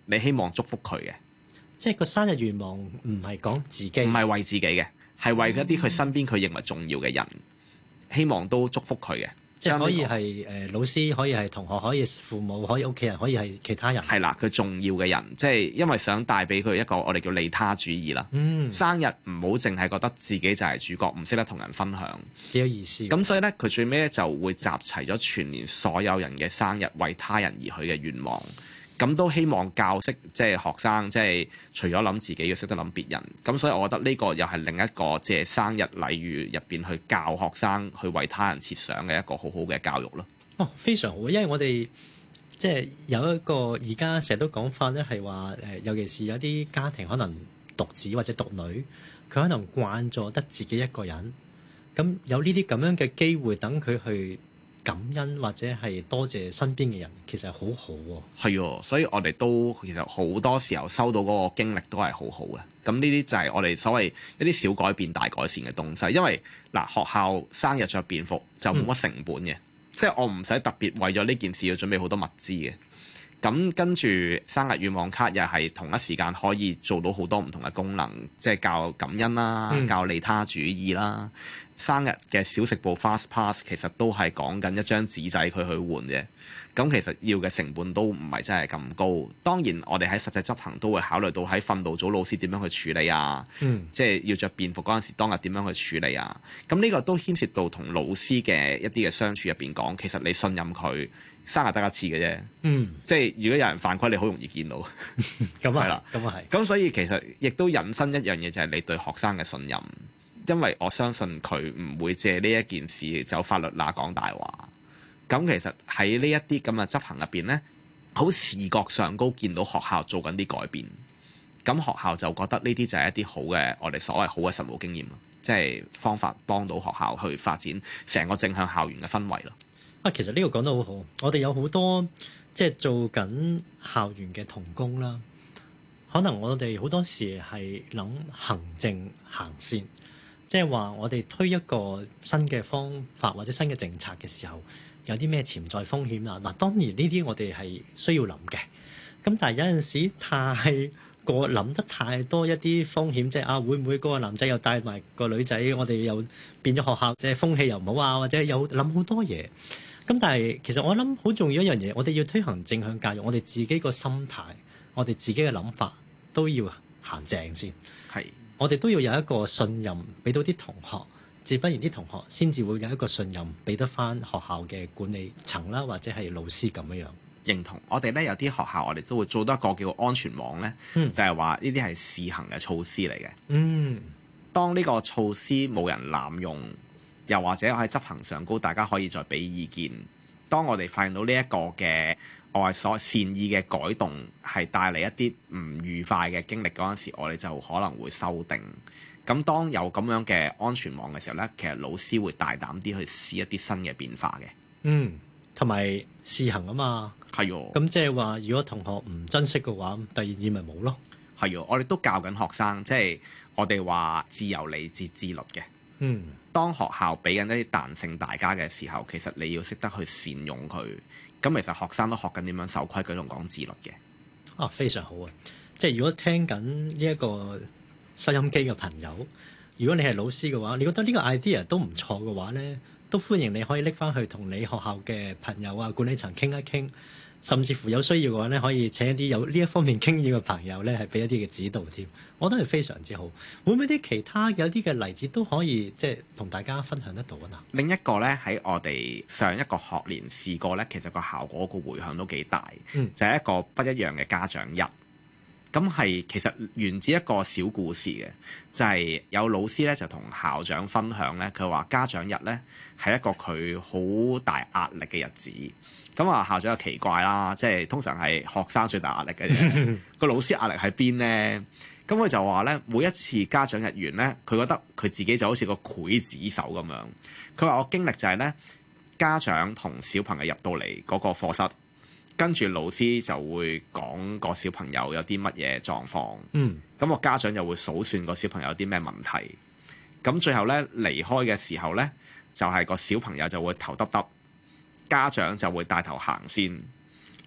你希望祝福佢嘅。 即係個生日願望唔係講自己， 唔係為自己嘅，係為一啲佢身邊佢認為重要嘅人，希望都祝福佢嘅。 即係可以係老師，可以係同學，可以父母，可以屋企人，可以係其他人。 係啦，佢重要嘅人，即係因為想帶俾佢一個我哋叫利他主義啦。生日唔好淨係覺得自己就係主角，唔識得同人分享， 幾有意思。 咁所以咧，佢最尾咧就會集齊咗全年所有人嘅生日，為他人而許嘅願望。咁都希望教識即係學生，即係除咗諗自己，要識得諗別人。咁所以我覺得呢個又係另一個即係生日禮遇入邊去教學生去為他人設想嘅一個好好嘅教育咯。 哦，非常好，因為我哋即係有一個而家成日都講法咧，係話尤其是有啲家庭可能獨子或者獨女，佢可能慣咗得自己一個人，咁有呢啲咁樣嘅機會等佢去感恩或者係多謝身邊嘅人，其實好好喎。 係喎，所以我哋都其實好多時候收到嗰個經歷都係好好嘅。咁呢啲就係我哋所謂一啲小改變大改善嘅東西。因為嗱，學校生日着便服就冇乜成本嘅，即係我唔使特別為咗呢件事要準備好多物資嘅。咁跟住生日願望卡又係同一時間可以做到好多唔同嘅功能，即係教感恩啦，教利他主義啦。生日嘅小食部 Fast Pass 其實都係講緊一張紙仔佢去換啫，咁其實要嘅成本都唔係真係咁高。當然我哋喺實際執行都會考慮到喺訓導組老師點樣去處理啊，即係要着便服嗰陣時當日點樣去處理啊。咁呢個都牽涉到同老師嘅一啲嘅相處入邊講，其實你信任佢，生日得一次嘅啫，即係如果有人犯規，你好容易見到。 咁啊，咁啊係。 咁所以其實亦都引申一樣嘢，就係你對學生嘅信任。因為我相信佢唔會借呢一件事走法律罅講大話。咁其實喺呢一啲咁嘅執行入邊呢，好視覺上高見到學校做緊啲改變，咁學校就覺得呢啲就係一啲好嘅我哋所謂好嘅實務經驗咯，即係方法幫到學校去發展成個正向校園嘅氛圍咯。 啊，其實呢個講得好好，我哋有好多即係做緊校園嘅同工啦，可能我哋好多時係諗行政行先。即係話，我哋推一個新嘅方法或者新嘅政策嘅時候，有啲咩潛在風險啊？嗱，當然呢啲我哋係需要諗嘅。咁但係有陣時太過諗得太多一啲風險，即係啊，會唔會嗰個男仔又帶埋個女仔？我哋又變咗學校，即係風氣又唔好啊，或者有諗好多嘢。咁但係其實我諗好重要一樣嘢，我哋要推行正向教育，我哋自己個心態，我哋自己嘅諗法都要行正先。 係。 我哋都要有一個信任，俾到啲同學，自不然啲同學先至會有一個信任，俾得翻學校嘅管理層啦，或者係老師咁樣。 認同。我哋咧有啲學校，我哋都會做多一個叫安全網咧，就係話呢啲係試行嘅措施嚟嘅。當呢個措施冇人濫用，又或者喺執行上高，大家可以再俾意見。當我哋發現到呢一個嘅我係所善意嘅改動係帶嚟一啲唔愉快嘅經歷嗰陣時，我哋就可能會修訂。咁當有咁樣嘅安全網嘅時候呢，其實老師會大膽啲去試一啲新嘅變化嘅。 同埋試行啊嘛。 係喎。咁即係話，如果同學唔珍惜嘅話，第二年咪冇咯。 係喎，我哋都教緊學生，即係我哋話自由嚟自自律嘅。當學校俾緊一啲彈性大家嘅時候，其實你要識得去善用佢。咁其實學生都學緊點樣守規矩同講自律嘅。 啊，非常好啊！即係如果聽緊呢一個收音機嘅朋友，如果你係老師嘅話，你覺得呢個 idea 都唔錯嘅話呢，都歡迎你可以拎翻去同你學校嘅朋友啊、管理層傾一傾，甚至乎有需要嘅話呢，可以請一啲有呢一方面經驗嘅朋友呢，係俾一啲嘅指導添。我覺得係非常之好。會唔會啲其他有啲嘅例子都可以即係同大家分享得到啊？ 另一個呢，喺我哋上一個學年試過呢，其實個效果個迴響都幾大，就係一個不一樣嘅家長日。咁係其實源自一個小故事嘅，就係有老師呢，就同校長分享呢，佢話家長日呢係一個佢好大壓力嘅日子。咁啊，校長就奇怪啦，即係通常係學生最大壓力嘅啫，個老師壓力喺邊呢？咁佢就話咧，每一次家長日完咧，佢覺得佢自己就好似個劊子手咁樣。佢話我經歷就係咧，家長同小朋友入到嚟嗰個課室，跟住老師就會講個小朋友有啲乜嘢狀況。咁個家長又會數算個小朋友有啲咩問題。咁最後咧離開嘅時候咧，就係個小朋友就會頭耷耷，家長就會帶頭行先。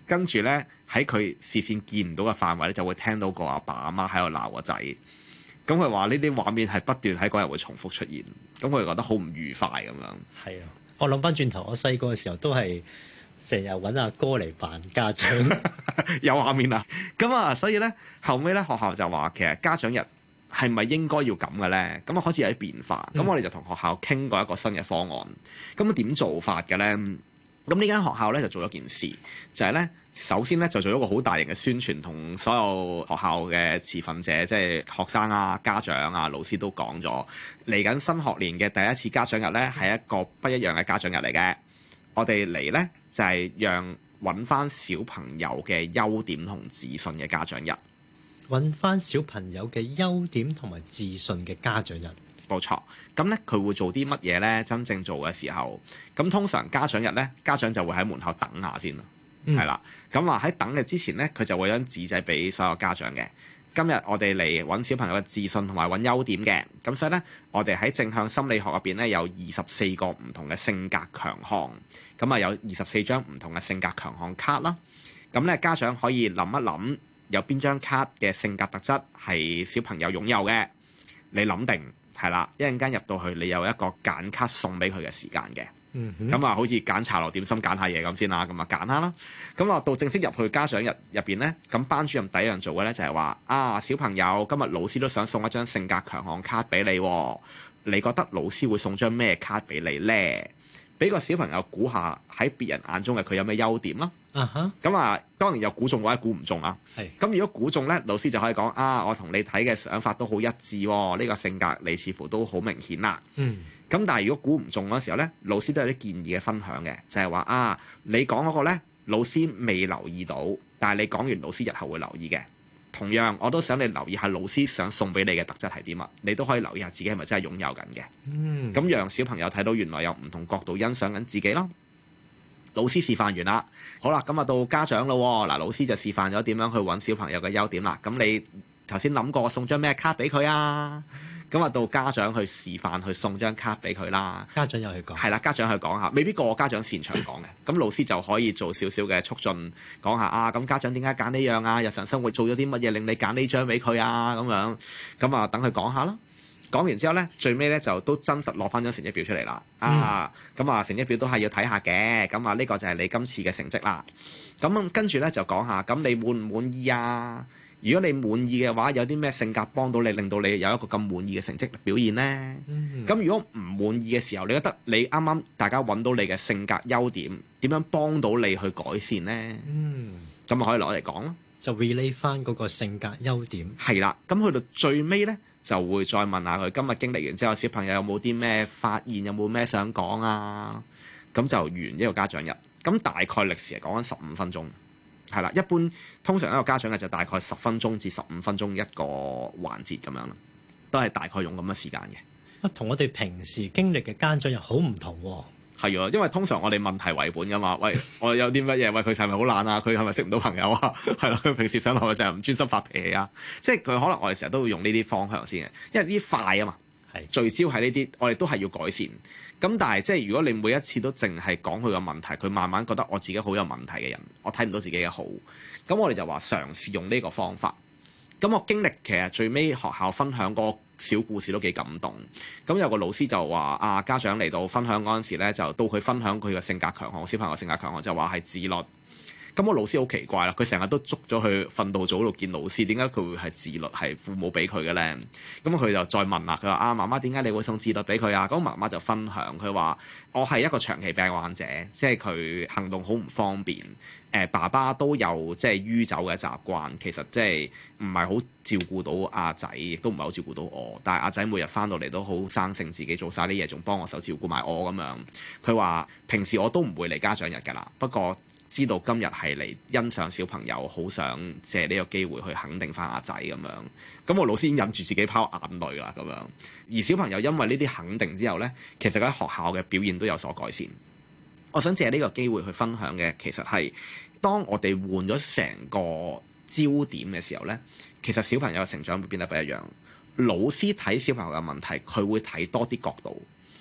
跟住咧喺佢視線見唔到嘅範圍咧，就會聽到個阿爸阿媽喺度鬧個仔。咁佢話呢啲畫面係不斷喺嗰日會重複出現，咁佢覺得好唔愉快咁樣。 係啊，我諗翻轉頭，我細個嘅時候都係成日揾阿哥嚟扮家長， 有畫面啊！咁啊，所以咧後尾咧學校就話其實家長日係咪應該要咁嘅咧？咁啊開始有啲變化。咁我哋就同學校傾過一個新嘅方案。咁點做法嘅咧？咁呢間學校咧就做咗件事，就係咧首先咧就做咗一個好大型嘅宣傳，同所有學校嘅持份者，即係學生啊、家長啊、老師都講咗，嚟緊新學年嘅第一次家長日咧係一個不一樣嘅家長日嚟嘅。我哋嚟咧就係讓揾翻小朋友嘅優點同自信嘅家長日， 揾翻小朋友嘅優點同埋自信嘅家長日。 冇錯，咁咧佢會做啲乜嘢咧？真正做嘅時候，咁通常家長日咧，家長就會喺門口等下先咯，係啦。咁話喺等嘅之前咧，佢就會有張紙仔俾所有家長嘅。今日我哋嚟揾小朋友嘅自信同埋揾優點嘅，咁所以咧，我哋喺正向心理學入邊咧有24個唔同嘅性格強項，咁啊有24張唔同嘅性格強項卡啦。咁咧家長可以諗一諗，有邊張卡嘅性格特質係小朋友擁有嘅，你諗定。係啦，一陣間入到去，你有一個揀卡送俾佢嘅時間嘅。咁啊，好似揀茶樓點心揀下嘢咁先啦。咁啊，揀下啦。咁啊，到正式入去家長日入邊咧，咁班主任第一樣做嘅咧就係話啊，小朋友今日老師都想送一張性格強項卡俾你喎，你覺得老師會送張咩卡俾你咧？俾個小朋友估下喺別人眼中嘅佢有咩優點啦。咁啊，當然有估中或者估唔中啊。咁如果估中咧，老師就可以講啊，我同你睇嘅想法都好一致喎，呢個性格你似乎都好明顯啦。咁但係如果估唔中嗰時候咧，老師都有啲建議嘅分享嘅，就係話啊，你講嗰個咧，老師未留意到，但係你講完，老師日後會留意嘅。同樣，我都想你留意下老師想送俾你嘅特質係點啊，你都可以留意下自己係咪真係擁有緊嘅。咁讓小朋友睇到原來有唔同角度欣賞緊自己咯。老師示範完啦，好啦，咁啊到家長咯。嗱，老師就示範咗點樣去揾小朋友嘅優點啦。咁你頭先諗過送張咩卡俾佢啊？咁啊到家長去示範去送張卡俾佢啦。 家長又去講， 係啦，家長去講下，未必個個家長擅長講嘅。咁老師就可以做少少嘅促進，講下啊，咁家長點解揀呢樣啊？日常生活做咗啲乜嘢令你揀呢張俾佢啊？咁樣咁啊，等佢講下啦。講完之後咧，最尾咧就都真實攞翻張成績表出嚟啦。咁啊成績表都係要睇下嘅。咁啊呢個就係你今次嘅成績啦。咁跟住咧就講下，咁你滿唔滿意啊？如果你滿意嘅話，有啲咩性格幫到你，令到你有一個咁滿意嘅成績表現呢？咁如果唔滿意嘅時候，你覺得你啱啱大家揾到你嘅性格優點，點樣幫到你去改善呢？咁啊可以攞嚟講咯， 就 relate 翻嗰個性格優點。係啦，咁去到最尾咧，就會再問下佢今日經歷完之後，小朋友有冇啲咩發現，有冇咩想講啊？咁就完一個家長日。咁大概歷時係講緊15分鐘。係啦，一般通常一個家長日就大概10分鐘至15分鐘一個環節咁樣啦，都係大概用咁嘅時間嘅。 同我哋平時經歷嘅家長日好唔同喎。 係啊，因為通常我哋問題為本㗎嘛。喂，我有啲乜嘢？喂，佢係咪好懶啊？佢係咪識唔到朋友啊？係啦，佢平時上學嘅時候唔專心發脾氣啊。即係佢可能我哋成日都會用呢啲方向先嘅，因為呢啲快啊嘛。聚焦喺呢啲，我哋都係要改善。咁但係即係如果你每一次都淨係講佢嘅問題，佢慢慢覺得我自己好有問題嘅人，我睇唔到自己嘅好。咁我哋就話嘗試用呢個方法。咁我經歷其實最尾學校分享個小故事都幾感動。咁有個老師就話啊，家長嚟到分享嗰陣時咧，就到佢分享佢嘅性格強項，小朋友性格強項就話係自律。咁我老師好奇怪啦，佢成日都捉咗去訓導組度見老師，點解佢會係自律係父母俾佢嘅咧？咁佢就再問啦，佢話啊，媽媽點解你會送自律俾佢啊？咁媽媽就分享，佢話我係一個長期病患者，即係佢行動好唔方便。爸爸都有即係酗酒嘅習慣，其實即係唔係好照顧到阿仔，亦都唔係好照顧到我。但係阿仔每日翻到嚟都好生性，自己做晒啲嘢，仲幫我手照顧埋我咁樣。佢話平時我都唔會嚟家長日㗎啦，不過知道今日係嚟欣賞小朋友，好想借呢個機會去肯定翻阿仔咁樣。咁我老師已經忍住自己拋眼淚啦咁樣。而小朋友因為呢啲肯定之後呢，其實喺學校嘅表現都有所改善。我想借呢個機會去分享嘅，其實係當我哋換咗成個焦點嘅時候呢，其實小朋友嘅成長會變得不一樣。老師睇小朋友嘅問題，佢會睇多啲角度。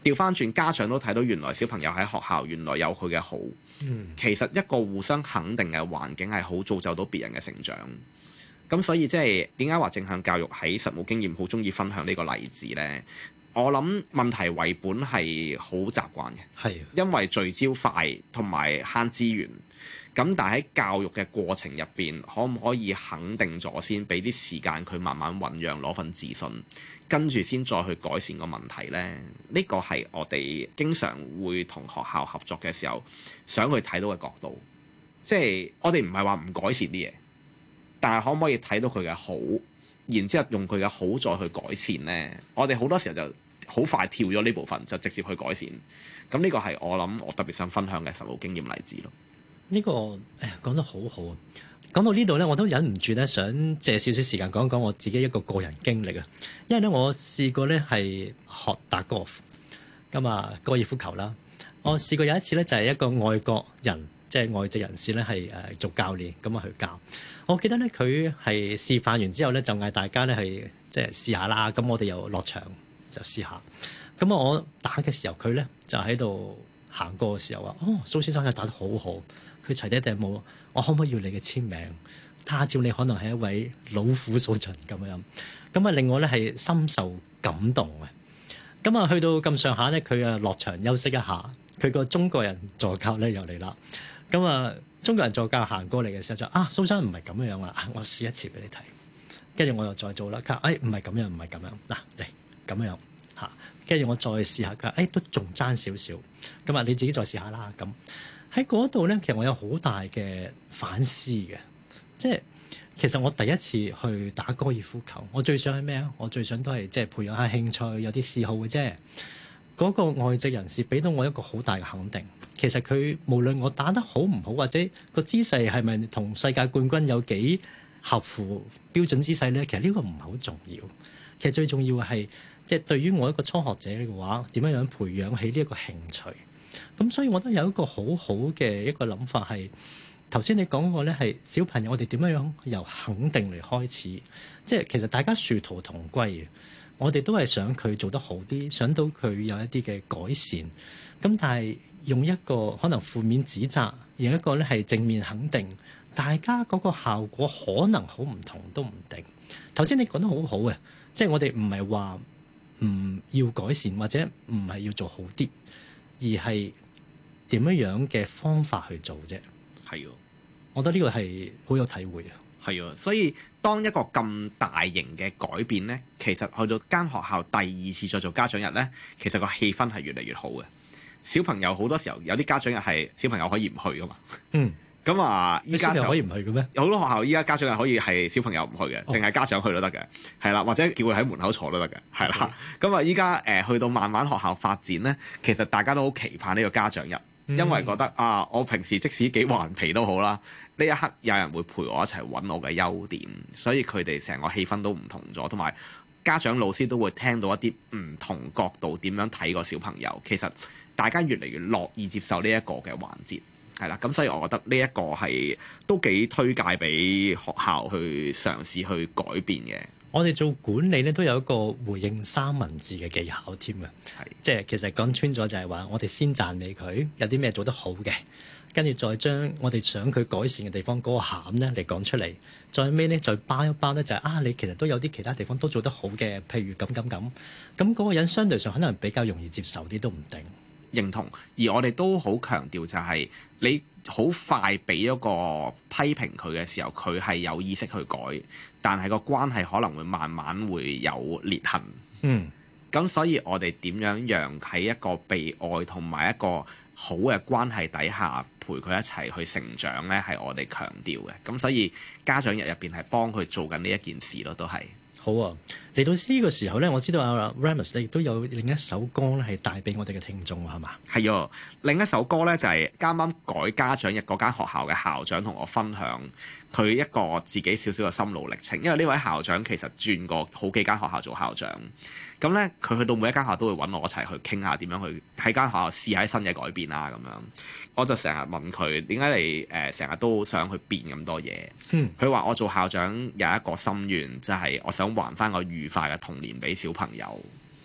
調翻轉，家長都睇到原來小朋友喺學校原來有佢嘅好。其實一個互相肯定嘅環境係好造就到別人嘅成長。咁所以即係點解話正向教育喺實務經驗好中意分享呢個例子呢？我諗問題為本係好習慣嘅，因為聚焦快同埋慳資源。咁但係喺教育嘅過程入邊，可唔可以肯定咗先，俾啲時間佢慢慢醖釀，攞份自信，跟住先再去改善個問題呢？呢個係我哋經常會同學校合作嘅時候想去睇到嘅角度。即係我哋唔係話唔改善啲嘢，但係可唔可以睇到佢嘅好，然之後用佢嘅好再去改善呢？我哋好多時候就好快跳咗呢部分，就直接去改善。咁呢個係我諗我特別想分享嘅實務經驗例子咯。 呢個講得好好啊！講到呢度咧，我都忍唔住咧，想借少少時間講講我自己一個個人經歷啊。因為咧，我試過咧係學打高爾夫，咁啊高爾夫球啦。我試過有一次咧，就係一個外國人，即係外籍人士咧，係做教練咁啊去教。我記得咧，佢係示範完之後咧，就嗌大家咧係即係試下啦。咁我哋又落場就試下。咁我打嘅時候，佢咧就喺度行過嘅時候話：哦，蘇先生又打得好好。佢除低頂帽，我可唔可以要你嘅簽名？他朝你可能係一位老虎蘇俊咁樣，咁啊令我咧係深受感動嘅。咁啊去到咁上下咧，佢啊落場休息一下，佢個中國人助教咧又嚟啦。咁啊中國人助教行過嚟嘅時候就蘇生唔係咁樣啊，我試一次俾你睇。跟住我又再做啦，佢話唔係咁樣，唔係咁樣，嗱嚟咁樣嚇。跟住我再試下，佢話都仲爭少少。咁啊你自己再試下啦咁。喺嗰度咧，其實我有好大嘅反思嘅，即係其實我第一次去打高爾夫球，我最想係咩啊？我最想都係即係培養下興趣，有啲嗜好嘅啫。嗰個外籍人士俾到我一個好大嘅肯定。其實佢無論我打得好唔好，或者個姿勢係咪同世界冠軍有幾合乎標準姿勢咧，其實呢個唔係好重要。其實最重要嘅係即係對於我一個初學者嘅話，點樣樣培養起呢一個興趣。咁所以我都有一個好好嘅一個諗法係，頭先你講過咧係小朋友，我哋點樣樣由肯定嚟開始，即係其實大家殊途同歸嘅，我哋都係想佢做得好啲，想到佢有一啲嘅改善。咁但係用一個可能負面指責，用一個咧係正面肯定，大家嗰個效果可能好唔同都唔定。頭先你講得好好嘅，即係我哋唔係話唔要改善或者唔係要做好啲，而係點樣嘅方法去做啫？ 係啊， 我覺得呢個係好有體會啊。 係啊，所以當一個咁大型嘅改變呢，其實去到間學校第二次再做家長日呢，其實個氣氛係越嚟越好嘅。小朋友好多時候有啲家長日係小朋友可以唔去噶嘛。咁啊，依家就可以唔去嘅咩？ 有好多學校依家家長日可以係小朋友唔去嘅，淨係家長去都得嘅，係啦，或者叫佢喺門口坐都得嘅，係啦。咁啊，依家去到慢慢學校發展呢，其實大家都好期盼呢個家長日，因為覺得我平時即使幾頑皮都好啦，呢一刻有人會陪我一齊揾我嘅優點，所以佢哋成個氣氛都唔同咗，同埋家長老師都會聽到一啲唔同角度點樣睇個小朋友。其實大家越嚟越樂意接受呢一個嘅環節。係啦，咁所以我覺得呢一個係都幾推介俾學校去嘗試去改變嘅。 我哋做管理咧都有一個回應三文治嘅技巧添嘅，即係其實講穿咗就係話，我哋先讚美佢有啲咩做得好嘅，跟住再將我哋想佢改善嘅地方嗰個餡咧嚟講出嚟，再尾咧再包一包咧就係你其實都有啲其他地方都做得好嘅，譬如咁，咁嗰個人相對上可能比較容易接受啲都唔定。 認同，而我哋都好強調就係你好快俾一個批評佢嘅時候，佢係有意識去改，但係個關係可能會慢慢會有裂痕。咁所以我哋點樣讓喺一個被愛同埋一個好嘅關係底下陪佢一齊去成長呢，係我哋強調嘅。咁所以家長日入邊係幫佢做緊呢一件事咯，都係。 好啊！嚟到呢個時候咧，我知道阿 Remus 亦都有另一首歌咧，係帶俾我哋嘅聽眾，係嘛？ 係啊，另一首歌咧就係啱啱改家長日嗰間學校嘅校長同我分享佢一個自己少少嘅心路歷程。因為呢位校長其實轉過好幾間學校做校長，咁咧佢去到每一間學校都會揾我一齊去傾下點樣去喺間學校試下新嘅改變啦咁樣。我就成日問佢點解你成日都想去變咁多嘢？佢話我做校長有一個心願，就係我想還翻個愉快嘅童年俾小朋友。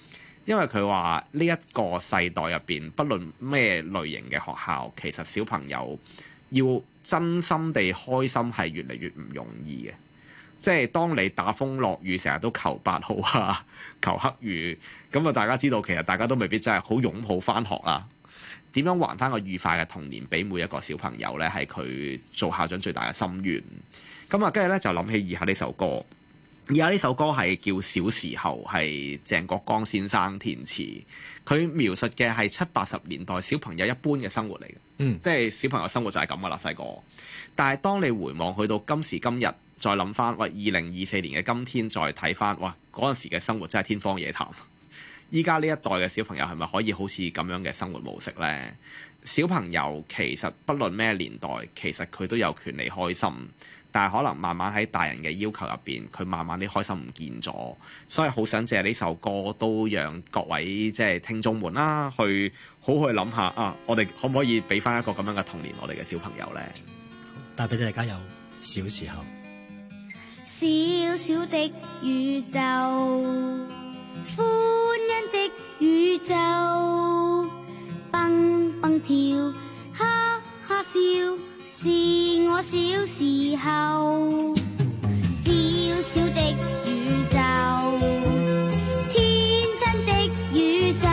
因為佢話呢一個世代入邊，不論咩類型嘅學校，其實小朋友要真心地開心係越嚟越唔容易嘅。即係當你打風落雨，成日都求8號啊，求黑雨，咁啊大家知道其實大家都未必真係好擁抱返學啦。點樣還返個愉快嘅童年俾每一個小朋友呢？係佢做校長最大嘅心願。咁啊，跟住咧就諗起以下呢首歌。以下呢首歌係叫《小時候》，係鄭國江先生填詞。佢描述嘅係70、80年代小朋友一般嘅生活嚟嘅。即係小朋友生活就係咁噶啦，細個。但係當你回望去到今時今日，再諗翻，喂，2024年嘅今天再睇翻，哇，嗰陣時嘅生活真係天方夜譚。依家呢一代嘅小朋友係咪可以好似咁樣嘅生活模式呢？小朋友其實不論咩年代，其實佢都有權利開心。但係可能慢慢喺大人嘅要求入邊，佢慢慢啲開心唔見咗，所以好想借呢首歌都讓各位即係聽眾們啦，去好去諗下啊，我哋可唔可以俾翻一個咁樣嘅童年我哋嘅小朋友呢？ 帶俾大家有小時候， 小小的宇宙，歡欣的宇宙，蹦蹦跳，哈哈笑。是我小時候，小小的宇宙，天真的宇宙，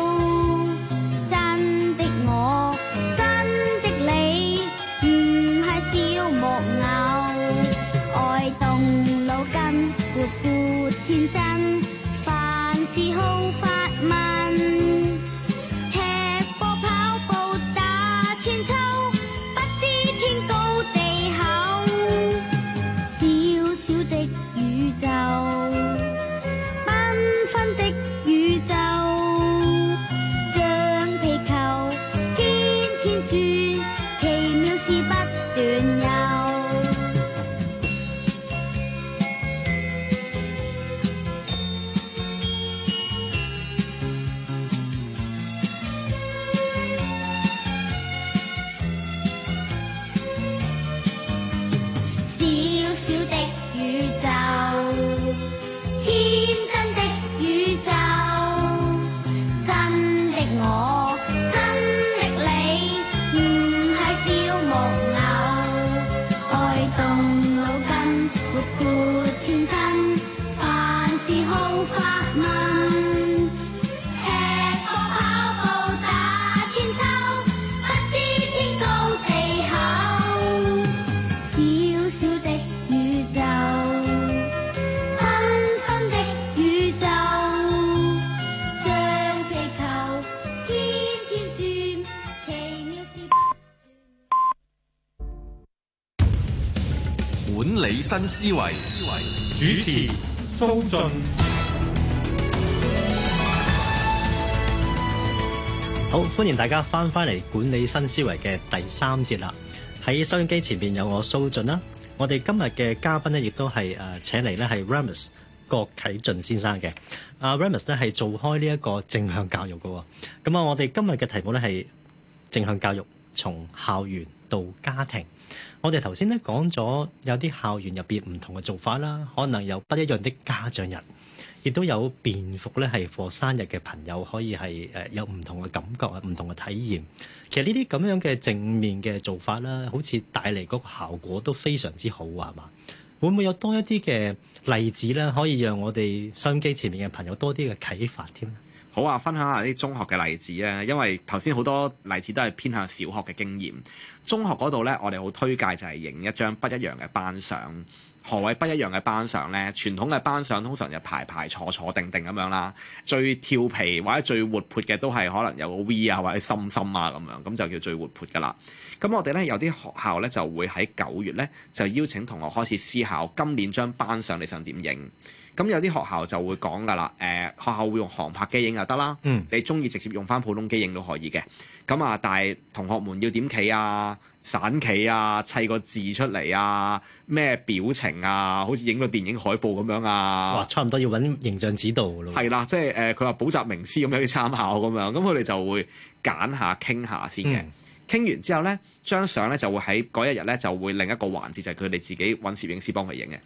真的我，真的你，唔係小木偶，愛動腦筋，活潑天真，凡事好發問，踢波跑步打千秋。 管理新思維， 主持蘇雋。 好，歡迎大家翻嚟管理新思維嘅第3節啦。喺收音機前邊有我蘇雋啦。我哋今日嘅嘉賓咧，亦都係請嚟咧係 Remus 郭啟俊先生嘅。Remus 咧係做開呢一個正向教育嘅。咁啊，我哋今日嘅題目咧係正向教育，從校園到家庭。我哋頭先咧講咗有啲校園入邊唔同嘅做法啦，可能有不一樣的家長日，亦都有便服咧係過生日嘅朋友可以係有唔同嘅感覺啊，唔同嘅體驗。其實呢啲咁樣嘅正面嘅做法啦，好似帶嚟嗰個效果都非常之好啊，係嘛？會唔會有多一啲嘅例子咧，可以讓我哋收音機前面嘅朋友多啲嘅啟發添？ 好啊，分享下啲中學嘅例子啊，因為頭先好多例子都係偏向小學嘅經驗。中學嗰度咧，我哋好推介就係影一張不一樣嘅班相。何謂不一樣嘅班相呢？傳統嘅班相通常就排排坐坐定定咁樣啦，最調皮或者最活潑嘅都係可能有個 V 啊或者心心啊咁樣，咁就叫最活潑噶啦。咁我哋咧有啲學校咧就會喺9月咧就邀請同學開始思考今年張班相你想點影。咁有啲學校就會講㗎啦，學校會用航拍機影就得啦，你中意直接用翻普通機影都可以嘅。咁啊，但係同學們要點企啊、散企啊、砌個字出嚟啊、咩表情啊，好似影個電影海報咁樣啊。 哇，差唔多要揾形象指導咯。 係啦，即係佢話補習名師咁樣去參考咁樣，咁佢哋就會揀下傾下先嘅。傾完之後咧，張相咧就會喺嗰一日咧就會另一個環節就係佢哋自己揾攝影師幫佢影嘅。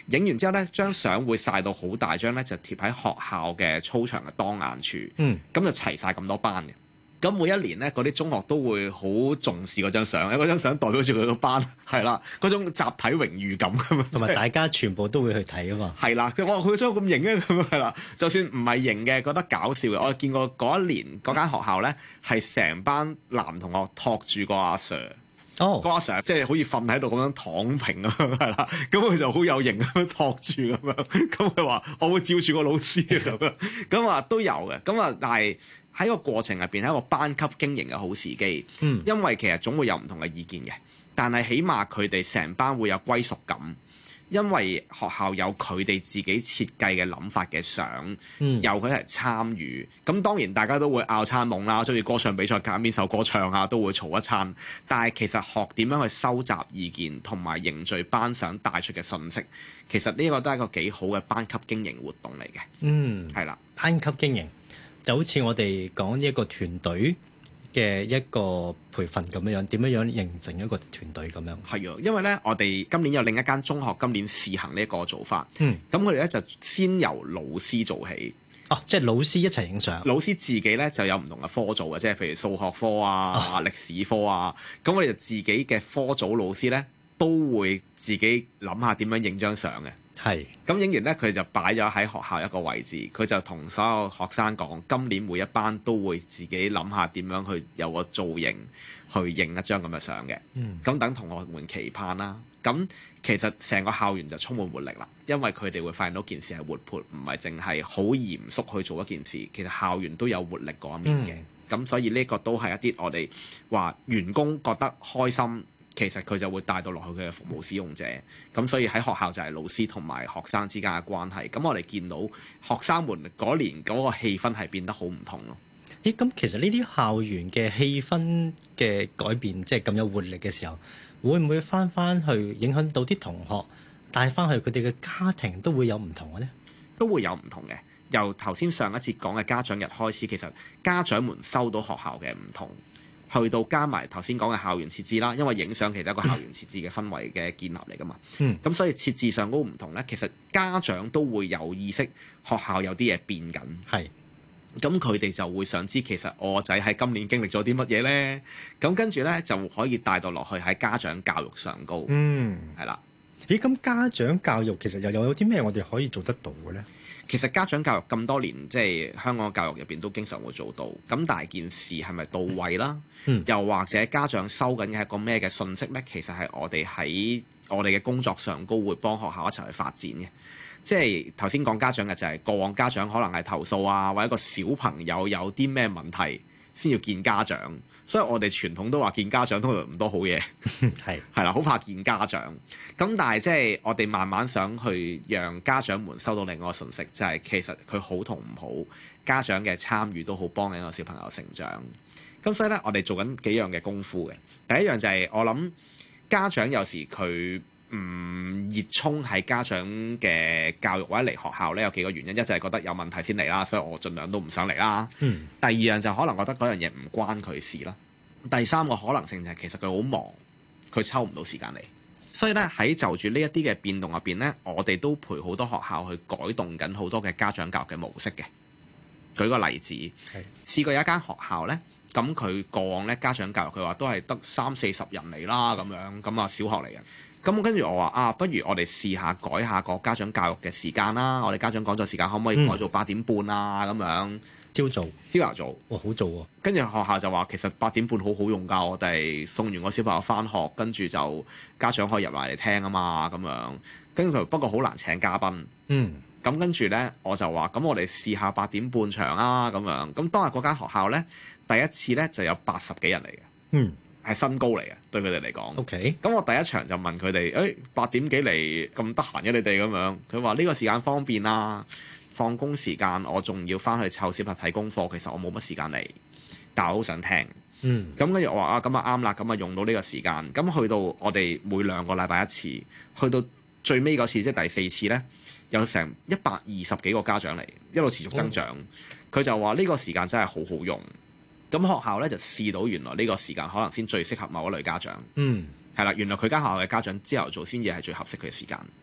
影完之後咧，張相會曬到好大張咧，就貼喺學校嘅操場嘅當眼處。咁就齊晒咁多班嘅。咁每一年咧，嗰啲中學都會好重視嗰張相，因為嗰張相代表住佢個班，係啦，嗰種集體榮譽感咁樣， 同埋大家全部都會去睇啊嘛。 係啦，我話佢張咁型嘅咁係啦，就算唔係型嘅，覺得搞笑嘅，我見過嗰一年嗰間學校咧，係成班男同學托住個阿 Sir。個阿 Sir 即係好似瞓喺度咁樣躺平咁樣係啦，咁佢就好有型咁樣托住咁樣，咁佢話我會照住個老師咁樣，咁啊都有嘅，咁啊但係喺個過程入邊係一個班級經營嘅好時機，因為其實總會有唔同嘅意見嘅，但係起碼佢哋成班會有歸屬感。因為學校有佢哋自己設計嘅諗法嘅相，由佢嚟參與。咁當然大家都會拗餐夢啦，所以歌唱比賽揀邊首歌唱啊，都會嘈一餐。但係其實學點樣去收集意見同埋凝聚班想帶出嘅信息，其實呢個都係一個幾好嘅班級經營活動嚟嘅。係啦， 班級經營就好似我哋講一個團隊嘅一個培訓咁樣，點樣形成一個團隊咁樣？ 係啊，因為咧，我哋今年有另一間中學今年試行呢一個做法。咁佢哋咧就先由老師做起。 即係老師一齊影相。 老師自己咧就有唔同嘅科做嘅，即係譬如數學科啊、歷史科啊。咁我哋就自己嘅科組老師咧都會自己諗下點樣影張相嘅。咁影完咧，佢就擺咗喺學校一個位置，佢就同所有學生講，今年每一班都會自己諗下點樣去有個造型去影一張咁嘅相嘅。咁等同學們期盼啦。咁其實成個校園就充滿活力啦，因為佢哋會發現到件事係活潑，唔係淨係好嚴肅去做一件事。其實校園都有活力嗰一面嘅。咁所以呢個都係一啲我哋話員工覺得開心。其實佢就會帶到落去佢嘅服務使用者，咁所以喺學校就係老師同埋學生之間嘅關係。咁我哋見到學生們嗰年嗰個氣氛係變得好唔同咯。 咁其實呢啲校園嘅氣氛嘅改變，即係咁有活力嘅時候，會唔會翻去影響到啲同學帶翻去佢哋嘅家庭都會有唔同嘅呢？ 都會有唔同嘅。由頭先上一節講嘅家長日開始，其實家長們收到學校嘅唔同。去到加埋頭先講嘅校園設置啦，因為影相其實係一個校園設置嘅氛圍嘅建立嚟㗎嘛。咁所以設置上嗰個唔同咧，其實家長都會有意識，學校有啲嘢變緊。咁佢哋就會想知其實我仔喺今年經歷咗啲乜嘢咧？咁跟住咧就可以帶到落去喺家長教育上高。係啦。 咁家長教育其實又有啲咩我哋可以做得到嘅咧？ 其實家長教育咁多年，即係香港教育入邊都經常會做到。咁但係件事係咪到位啦？又或者家長收緊嘅係個咩嘅信息咧？其實係我哋喺我哋嘅工作上高會幫學校一齊去發展嘅。即係頭先講家長嘅就係過往家長可能係投訴啊，或者個小朋友有啲咩問題先要見家長。所以我哋傳統都話見家長通常唔多好嘢，係啦，好怕見家長。咁但係即係我哋慢慢想去讓家長們收到另外一個信息，就係其實佢好同唔好，家長嘅參與都好幫緊個小朋友成長。咁所以咧，我哋做緊幾樣嘅功夫嘅。第一樣就係我諗家長有時佢唔熱衷喺家長嘅教育或者嚟學校咧，有幾個原因。一就係覺得有問題先嚟啦，所以我盡量都唔想嚟啦。第二樣就可能覺得嗰樣嘢唔關佢事啦。第三個可能性就係其實佢好忙，佢抽唔到時間嚟。所以咧，喺就住呢一啲嘅變動入邊咧，我哋都陪好多學校去改動緊好多嘅家長教育嘅模式嘅。舉個例子，試過有一間學校咧，咁佢過往咧家長教育佢話都係得30-40人嚟啦，咁樣咁啊，小學嚟嘅。咁跟住我話不如我哋試下改下個家長教育嘅時間啦。我哋家長講座時間可唔可以改做8點半啊？咁樣朝頭早， 好早喎。 跟住學校就話其實8點半好好用㗎，我哋送完個小朋友返學，跟住就家長可以入埋嚟聽啊嘛，咁樣。跟住佢不過好難請嘉賓。咁跟住咧，我就話咁我哋試下8點半場啊，咁樣。咁當日嗰間學校咧，第一次咧就有80幾人嚟嘅。係新高嚟嘅，對佢哋嚟講。咁我第一場就問佢哋，8點幾嚟咁得閒嘅你哋咁樣？佢話呢個時間方便啦，放工時間我仲要翻去湊小朋友睇功課，其實我冇乜時間嚟，但我好想聽。咁跟住我話咁啊啱啦，咁啊用到呢個時間。咁去到我哋每2個禮拜一次，去到最尾嗰次即係第4次咧，有成120幾個家長嚟，一路持續增長。佢就話呢個時間真係好好用。咁學校咧就試到原來呢個時間可能先最適合某一類家長。係啦，原來佢間學校嘅家長朝頭早先至係最合適佢嘅時間。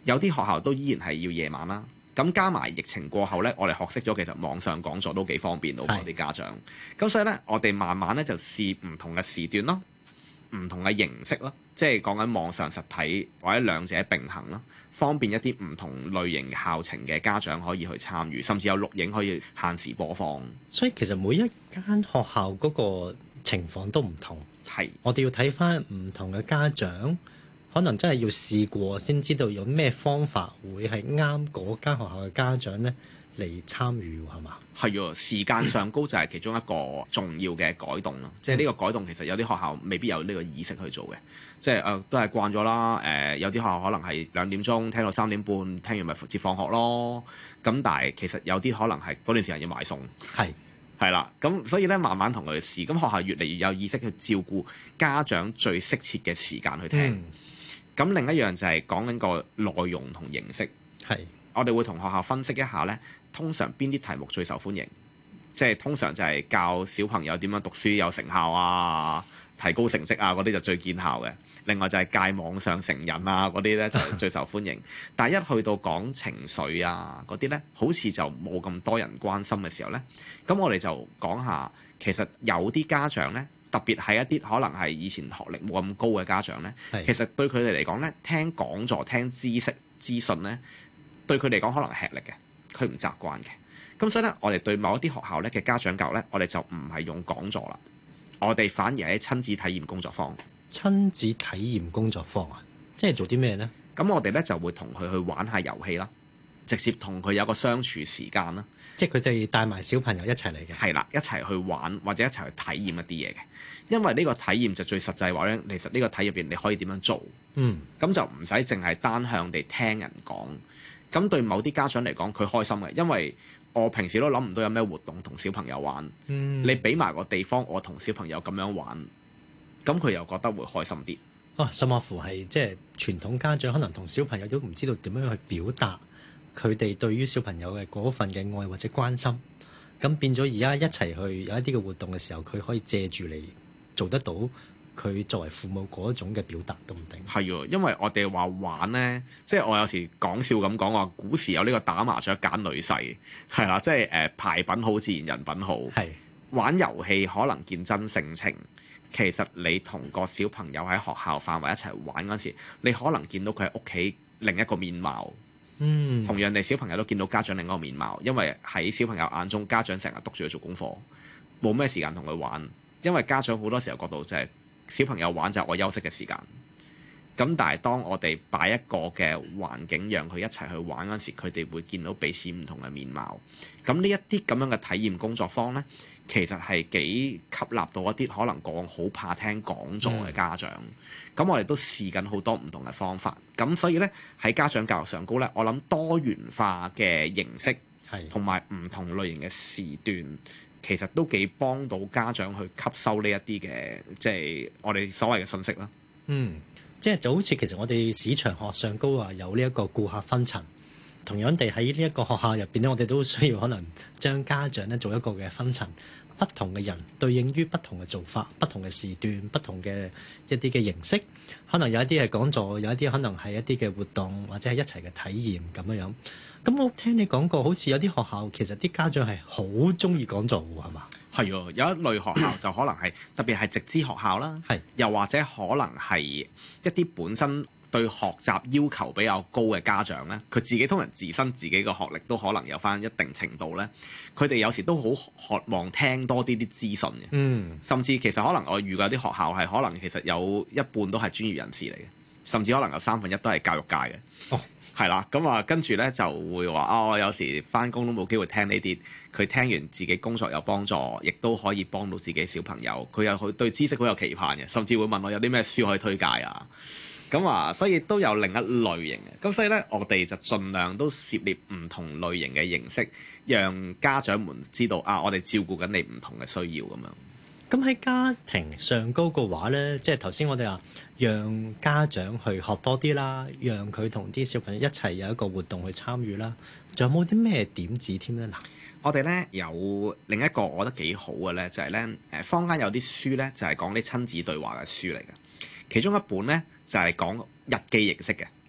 有啲學校都依然係要夜晚啦。咁加埋疫情過後呢，我哋學識咗其實網上講座都幾方便到我哋家長。咁所以呢，我哋慢慢呢就試唔同嘅時段咯，唔同嘅形式咯，即係講緊網上實體或者兩者並行咯，方便一啲唔同類型校情嘅家長可以去參與，甚至有錄影可以限時播放。 所以其實每一間學校嗰個情況都唔同， 係我哋要睇翻唔同嘅家長，可能真係要試過先知道有咩方法會係啱嗰間學校嘅家長咧嚟參與，係嘛？ 係喎，時間上高就係其中一個重要嘅改動咯。即係呢個改動其實有啲學校未必有呢個意識去做嘅，即係都係慣咗啦。有啲學校可能係2點鐘聽到3點半，聽完咪接放學咯。咁但係其實有啲可能係嗰段時間要買餸，係啦。咁所以咧慢慢同佢哋試，咁學校越嚟越有意識去照顧家長最適切嘅時間去聽。咁另一樣就係講緊個內容同形式，我哋會同學校分析一下呢，通常邊啲題目最受歡迎，即係通常就係教小朋友點樣讀書有成效啊，提高成績啊嗰啲就最見效嘅。另外就係戒網上成癮啊嗰啲呢就最受歡迎。但係一去到講情緒啊嗰啲呢，好似就冇咁多人關心嘅時候呢，咁我哋就講下，其實有啲家長呢，特別係一啲可能係以前學歷冇咁高嘅家長呢，其實對佢哋嚟講呢，聽講座、聽知識資訊呢，對佢嚟講可能吃力嘅，佢唔習慣嘅。咁所以呢，我哋對某一啲學校呢嘅家長教育呢，我哋就唔係用講座啦，我哋反而係親子體驗工作坊。 親子體驗工作坊啊，即係做啲咩呢？ 咁我哋呢就會同佢去玩下遊戲啦，直接同佢有個相處時間啦。 即係佢哋帶埋小朋友一齊嚟嘅。 係啦，一齊去玩或者一齊去體驗一啲嘢嘅。因為呢個體驗就最實際話咧，其實呢個體驗入邊你可以點樣做？咁就唔使淨係單向地聽人講。咁對某啲家長嚟講，佢開心嘅，因為我平時都諗唔到有咩活動同小朋友玩。你俾埋個地方，我同小朋友咁樣玩，咁佢又覺得會開心啲。 甚至乎係即係傳統家長可能同小朋友都唔知道點樣去表達佢哋對於小朋友嘅嗰份嘅愛或者關心。咁變咗而家一齊去有一啲嘅活動嘅時候，佢可以借住你做得到佢作為父母嗰種嘅表達都唔定。 係喎，因為我哋話玩呢，即係我有時講笑咁講話，古時有呢個打麻雀揀女婿，係啦，即係牌品好自然人品好。玩遊戲可能見真性情，其實你同個小朋友喺學校範圍一齊玩嗰時，你可能見到佢喺屋企另一個面貌。同樣地，小朋友都見到家長另一個面貌，因為喺小朋友眼中，家長成日督住佢做功課，冇咩時間同佢玩。因為家長好多時候覺得就係小朋友玩就係我休息嘅時間。咁但係當我哋擺一個嘅環境讓佢一齊去玩嗰時，佢哋會見到彼此唔同嘅面貌。咁呢一啲咁樣嘅體驗工作坊呢，其實係幾吸納到一啲可能個個好怕聽講座嘅家長。咁我哋都試緊好多唔同嘅方法。咁所以呢，喺家長教育上高呢，我諗多元化嘅形式同埋唔同類型嘅時段，其實都幾幫到家長去吸收呢一啲嘅，即係我哋所謂嘅信息啦。 即係就好似其實我哋市場學上高話有呢一個顧客分層，同樣地喺呢一個學校入邊咧，我哋都需要可能將家長咧做一個嘅分層，不同嘅人對應於不同嘅做法、不同嘅時段、不同嘅一啲嘅形式，可能有一啲係講座，有一啲可能係一啲嘅活動，或者係一齊嘅體驗咁樣樣。咁我聽你講過，好似有啲學校其實啲家長係好鍾意講座喎，係嘛？ 係喎，有一類學校就可能係特別係直資學校啦，又或者可能係一啲本身對學習要求比較高嘅家長咧，佢自己通常自身自己個學歷都可能有返一定程度咧，佢哋有時都好渴望聽多啲資訊嘅，甚至其實可能我遇過啲學校係可能其實有一半都係專業人士嚟嘅，甚至可能有1/3都係教育界嘅。係啦，咁啊，跟住咧就會話我有時返工都冇機會聽呢啲，佢聽完自己工作有幫助，亦都可以幫到自己小朋友。佢又對知識好有期盼嘅，甚至會問我有啲咩書可以推介啊。咁啊，所以都有另一類型嘅。咁所以咧，我哋就盡量都涉獵唔同類型嘅形式，讓家長們知道我哋照顧緊你唔同嘅需要咁樣。 咁喺家庭上高嘅話咧，即係頭先我哋話讓家長去學多啲啦，讓佢同啲小朋友一齊有一個活動去參與啦。仲有冇啲咩點子添咧？嗱， 我哋咧有另一個我覺得幾好嘅咧，就係咧坊間有啲書咧，就係講啲親子對話嘅書嚟嘅。其中一本咧就係講日記形式嘅。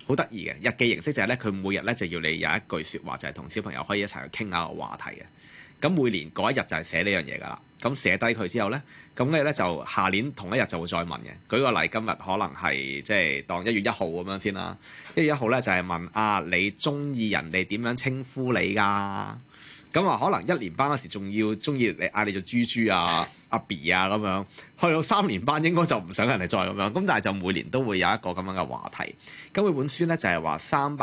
好得意嘅日記形式就係咧，佢每日咧就要你有一句説話，就係同小朋友可以一齊去傾下個話題嘅。咁每年嗰一日就係寫呢樣嘢㗎啦。咁寫低佢之後咧，咁你咧就下年同一日就會再問嘅。舉個例，今日可能係即係當1月1號咁樣先啦。1月1號咧就係問啊，你中意人哋點樣稱呼你㗎？咁啊，可能1年班嗰時仲要中意你嗌你做豬豬啊、阿 B 啊咁樣，去到3年班應該就唔想人哋再咁樣。咁但係就每年都會有一個咁樣嘅話題。咁佢本書咧就係話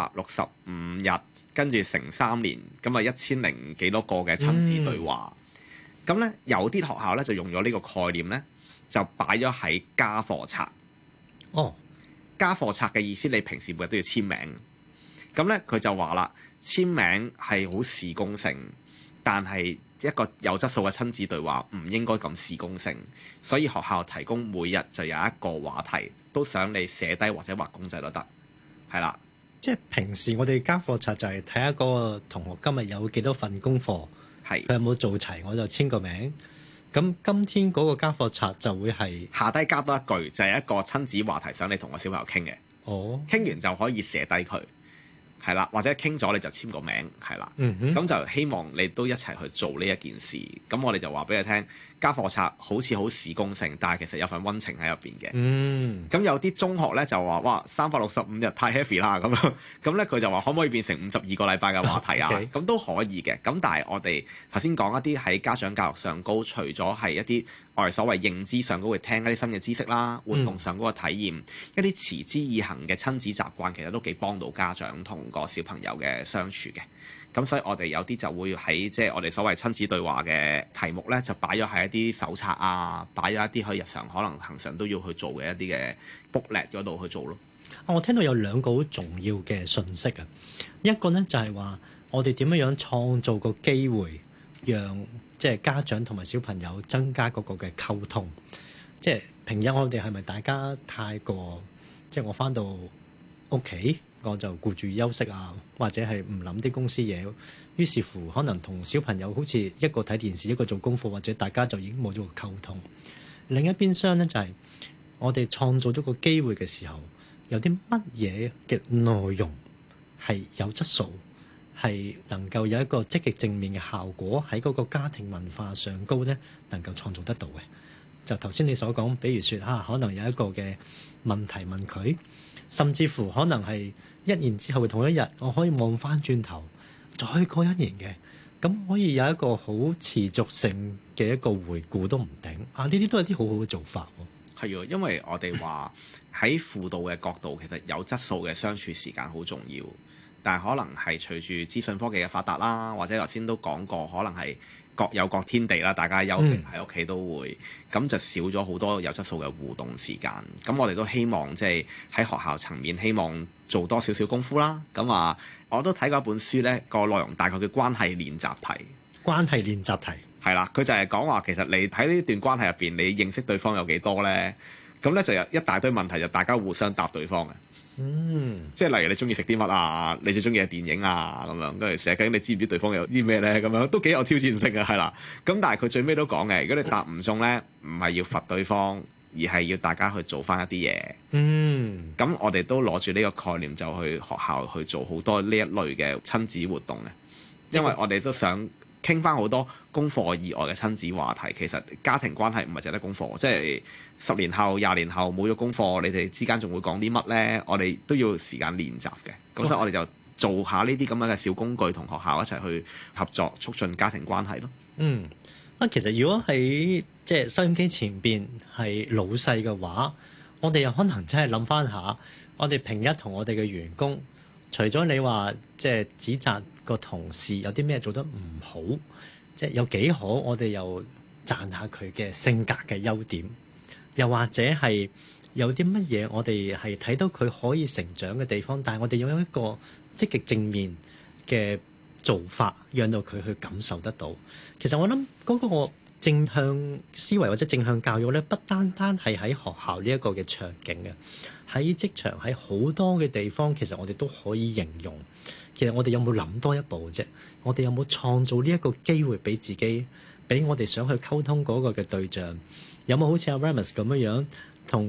365日，跟住乘3年，咁啊1000幾多個嘅親子對話。咁咧有啲學校咧就用咗呢個概念咧，就擺咗喺家課冊。 哦， 家課冊嘅意思，你平時每日都要簽名。咁咧佢就話啦，簽名係好事功性，但係一個有質素嘅親子對話唔應該咁事功性，所以學校提供每日就有一個話題，都想你寫低或者畫公仔都得，係啦。 即係平時我哋家課冊就係睇下嗰個同學今日有幾多份功課，佢有冇做齊，我就簽個名。咁今天嗰個家課冊就會係下低加多一句，就係一個親子話題，想你同個小朋友傾嘅。 哦， 傾完就可以寫低佢。係啦，或者傾咗你就簽個名，係啦，咁就希望你都一齊去做呢一件事。咁我哋就話俾你聽，家課冊好似好事功性，但係其實有份溫情喺入邊嘅。咁有啲中學咧就話：哇，365日太 heavy 啦咁樣。咁咧佢就話可唔可以變成52個禮拜嘅話題啊？咁都可以嘅。咁但係我哋頭先講一啲喺家長教育上高，除咗係一啲我哋所謂認知上高會聽一啲新嘅知識啦，活動上高嘅體驗，一啲持之以恆嘅親子習慣，其實都幾幫到家長同個小朋友嘅相處嘅。咁所以我哋有啲就會喺即係我哋所謂親子對話嘅題目咧，就擺咗喺一啲手冊啊，擺咗一啲喺日常可能恆常都要去做嘅一啲嘅 booklet 嗰度去做咯。 我聽到有2個好重要嘅訊息啊，一個咧就係話我哋點樣創造個機會，讓即係家長同埋小朋友增加嗰個嘅溝通。即係平日我哋係咪大家太過即係我返到屋企我就顧住休息啊，或者係唔諗啲公司嘢，於是乎可能同小朋友好似一個睇電視，一個做功課，或者大家就已經冇咗個溝通。另一邊廂咧就係我哋創造咗個機會嘅時候，有啲乜嘢嘅內容係有質素，係能夠有一個積極正面嘅效果喺嗰個家庭文化上高咧，能夠創造得到嘅。就頭先你所講，比如說可能有一個嘅問題問佢，甚至乎可能係1年之後嘅同一日，我可以望翻轉頭，再過1年嘅，咁可以有一個好持續性嘅一個回顧都唔定。呢啲都係啲好好嘅做法喎。 係啊，因為我哋話喺輔導嘅角度，其實有質素嘅相處時間好重要，但係可能係隨住資訊科技嘅發達啦，或者頭先都講過，可能係各有各天地啦，大家休息喺屋企都會，咁就少咗好多有質素嘅互動時間。咁我哋都希望即係喺學校層面，希望做多少少功夫啦。咁我都睇過一本書咧，個內容大概叫關係練習題。 關係練習題係啦，佢就係講話其實你喺呢段關係入邊，你認識對方有幾多咧？咁咧就有一大堆問題，就大家互相答對方嘅。即係例如你中意食啲乜啊？你最中意嘅電影啊咁樣，跟住寫緊你知唔知對方有啲咩咧？咁樣都幾有挑戰性嘅，係啦。咁但係佢最尾都講嘅，如果你答唔中咧，唔係要罰對方，而係要大家去做翻一啲嘢。咁我哋都攞住呢個概念，就去學校去做好多呢一類嘅親子活動嘅，因為我哋都想傾翻好多功課以外嘅親子話題。其實家庭關係唔係淨係得功課，即係10年後、20年後冇咗功課，你哋之間仲會講啲乜咧？我哋都要時間練習嘅。咁所以我哋就做下呢啲咁樣嘅小工具，同學校一齊去合作，促進家庭關係咯。 其實如果喺即係收音機前邊係老細嘅話，我哋又可能真係諗翻下，我哋平日同我哋嘅員工，除咗你話即係指責個同事有啲咩做得唔好，即係有幾好，我哋又讚下佢嘅性格嘅優點，又或者係有啲乜嘢我哋係睇到佢可以成長嘅地方，但係我哋有一個積極正面嘅做法，讓到佢去感受得到。其實我諗嗰個正向思維或者正向教育咧，不單單係喺學校呢一個嘅場景嘅，喺職場喺好多嘅地方，其實我哋都可以形容。其實我哋有冇諗多一步啫？我哋有冇創造呢一個機會俾自己，俾我哋想去溝通嗰個嘅對象？有冇好似阿 Remus 咁樣同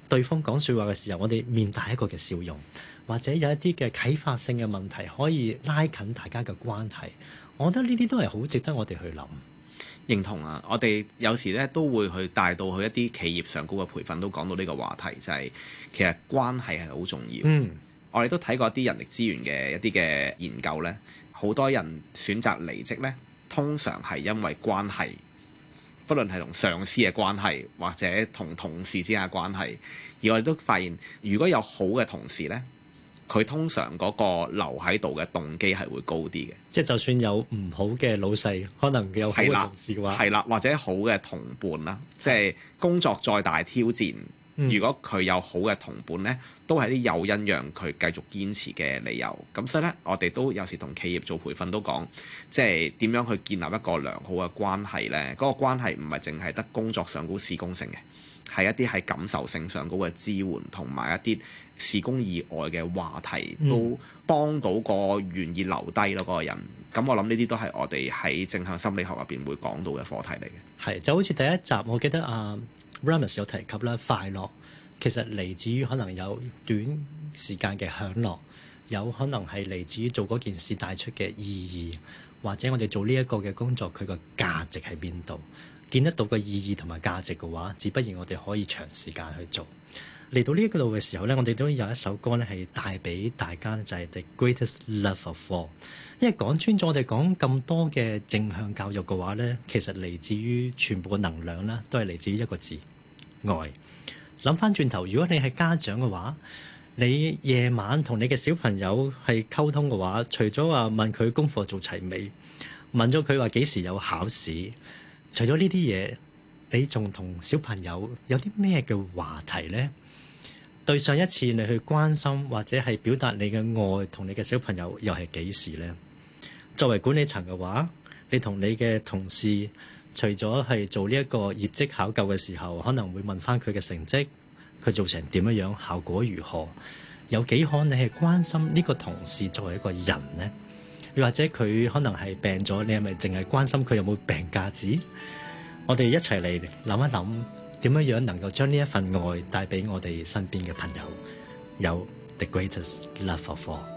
對方講説話嘅時候，我哋面帶一個嘅笑容，或者有一啲嘅啟發性嘅問題，可以拉近大家嘅關係。我覺得呢啲都係好值得我哋去諗。 認同啊！我哋有時咧都會去帶到去一啲企業上高嘅培訓，都講到呢個話題，就係其實關係係好重要。我哋都睇過一啲人力資源嘅一啲嘅研究咧，好多人選擇離職咧，通常係因為關係，不論係同上司嘅關係，或者同同事之間嘅關係。而我哋都發現，如果有好嘅同事咧，佢通常嗰個留喺度嘅動機係會高啲嘅。即係就算有唔好嘅老細，可能有好嘅同事嘅話，係啦，或者好嘅同伴啦，即係工作再大挑戰，如果佢有好嘅同伴咧，都係啲誘因讓佢繼續堅持嘅理由。咁所以咧，我哋都有時同企業做培訓都講，即係點樣去建立一個良好嘅關係咧？嗰個關係唔係淨係得工作上高事工性嘅，係一啲係感受性上高嘅支援，同埋一啲事工以外嘅話題，都幫到個願意留低咯嗰個人。咁我諗呢啲都係我哋喺正向心理學入邊會講到嘅課題嚟嘅。 係就好似第一集，我記得Ramus 有提及啦，快樂其實嚟自於可能有短時間嘅享樂，有可能係嚟自於做嗰件事帶出嘅意義，或者我哋做呢一個嘅工作佢個價值喺邊度，見得到個意義同埋價值嘅話，自不然我哋可以長時間去做。嚟到呢一個度嘅時候咧，我哋都有一首歌咧係帶俾大家，就係 The Greatest Love of All。因為講穿咗，我哋講咁多嘅正向教育嘅話咧，其實嚟自於全部嘅能量啦，都係嚟自於一個字愛。諗翻轉頭，如果你係家長嘅話，你夜晚同你嘅小朋友係溝通嘅話，除咗話問佢功課做齊未，問咗佢話幾時有考試，除咗呢啲嘢，你仲同小朋友有啲咩嘅話題呢？對上一次你去關心或者係表達你嘅愛同你嘅小朋友又係幾時呢？作為管理層嘅話，你同你嘅同事除咗係做呢一個業績考究嘅時候，可能會問翻佢嘅成績，佢做成點樣，效果如何？有幾可你係關心呢個同事作為一個人呢？又或者佢可能係病咗，你係咪淨係關心佢有冇病假紙？我哋一齊嚟諗一諗，點樣能夠將呢一份愛帶俾我哋身邊嘅朋友，有 The Greatest Love of All。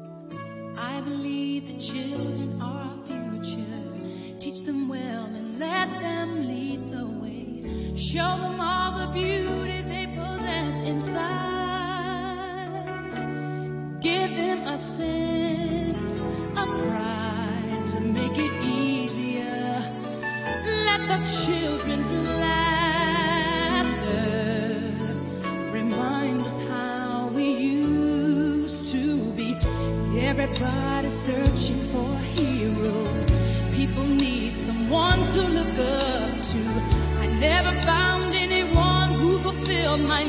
I believe the children are our future. Teach them well and let them lead the way. Show them all the beauty they possess inside. Give them a sense of pride to make it easier. Let the children's laughter remind us how we used to be. Everybody's searching for a hero. People need someone to look up to. I never found anyone who fulfilled my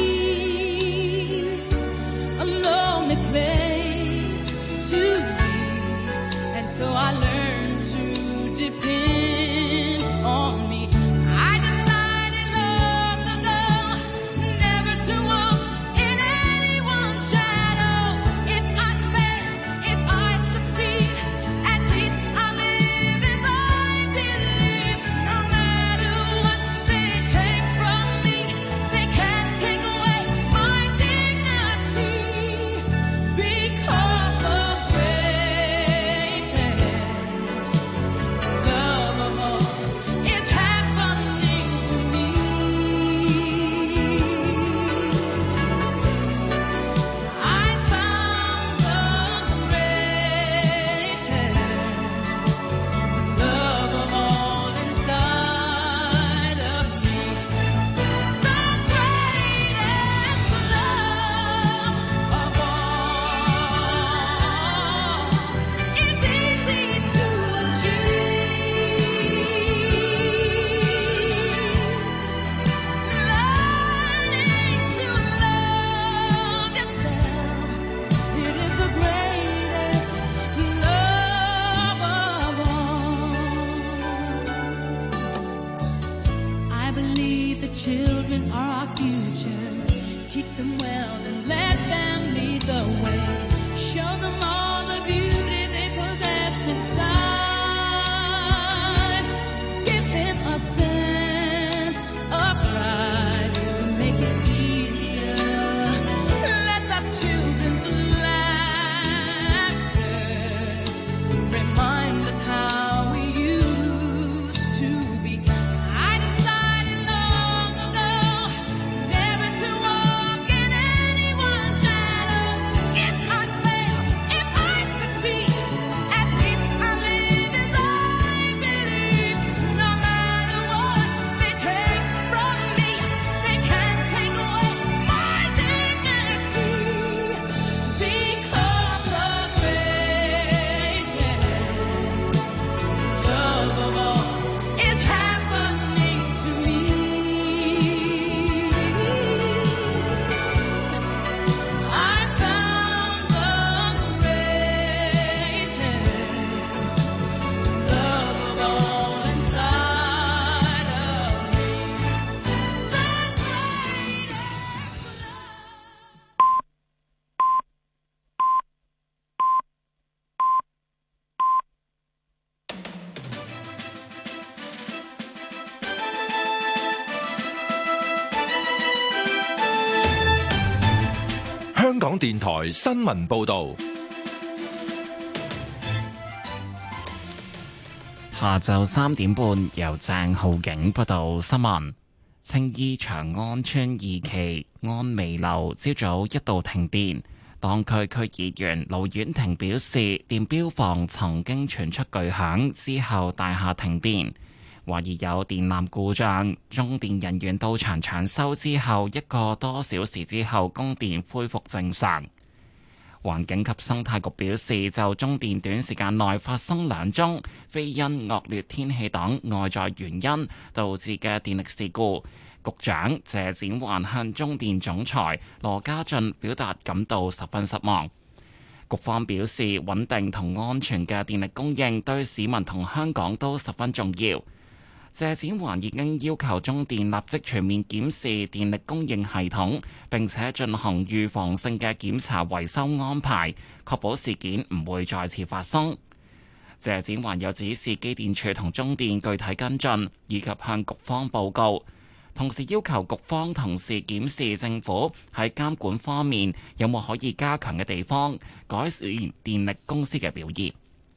needs. A lonely place to be, and so I learned to depend on me. I decided long ago never to walk in anyone's shadows. If I fail, if I succeed, at least I live as I believe. No matter what they take from me, they can't take away my dignity. Because the greatest love of all is happening to me. I found the greatest love of all inside of me. The greatest love of all is easy to achieve. Learning to love yourself, it is the greatest love of all. I believe the children are our future. Teach them well and let them lead the way. Show them all the beauty they possess inside. Give them a sense of pride to make it easier. 香港電台新聞報道。 下晝3點半，由鄭浩景報道新聞。青衣長安村二期安美樓朝早一度停電，當區區議員盧婉婷表示，電錶房曾經傳出巨響，之後大廈停電，懷疑有電纜故障。中電人員到場搶修之後，1個多小時之後供電恢復正常。環境及生態局表示，就中電短時間內發生2宗非因惡劣天氣等外在原因導致嘅電力事故，局長謝展寰向中電總裁羅家俊表達感到十分失望。局方表示，穩定同安全嘅電力供應對市民同香港都十分重要。謝展寰已經要求中電立即全面檢視電力供應系統，並且進行預防性嘅檢查維修安排，確保事件唔會再次發生。謝展寰又指示機電署同中電具體跟進，以及向局方報告，同時要求局方同時檢視政府喺監管方面有冇可以加強嘅地方，改善電力公司嘅表現。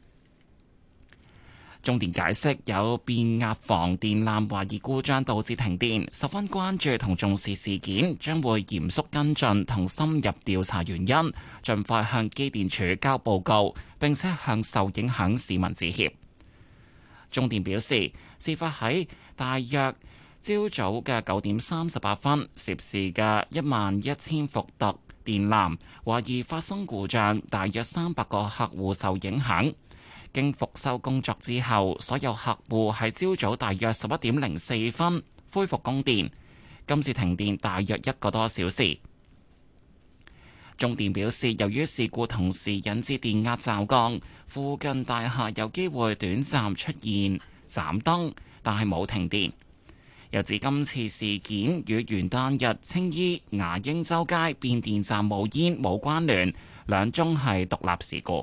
中電解釋有變壓房電纜懷疑故障導致停電，十分關注同重視事件，將會嚴肅跟進同深入調查原因，盡快向機電署交報告，並且向受影響市民致歉。中電表示，事發喺大約朝早嘅9點38分，涉事嘅11000伏特電纜懷疑發生故障，大約300個客戶受影響。經復修工作之後，所有客戶喺朝早大約11點04分恢復供電。今次停電大約1個多小時。中電表示，由於事故同時引致電壓驟降，附近大廈有機會短暫出現斬燈，但係冇停電。又指今次事件與元旦日青衣牙鷹洲街變電站冒煙冇關聯，2宗係獨立事故。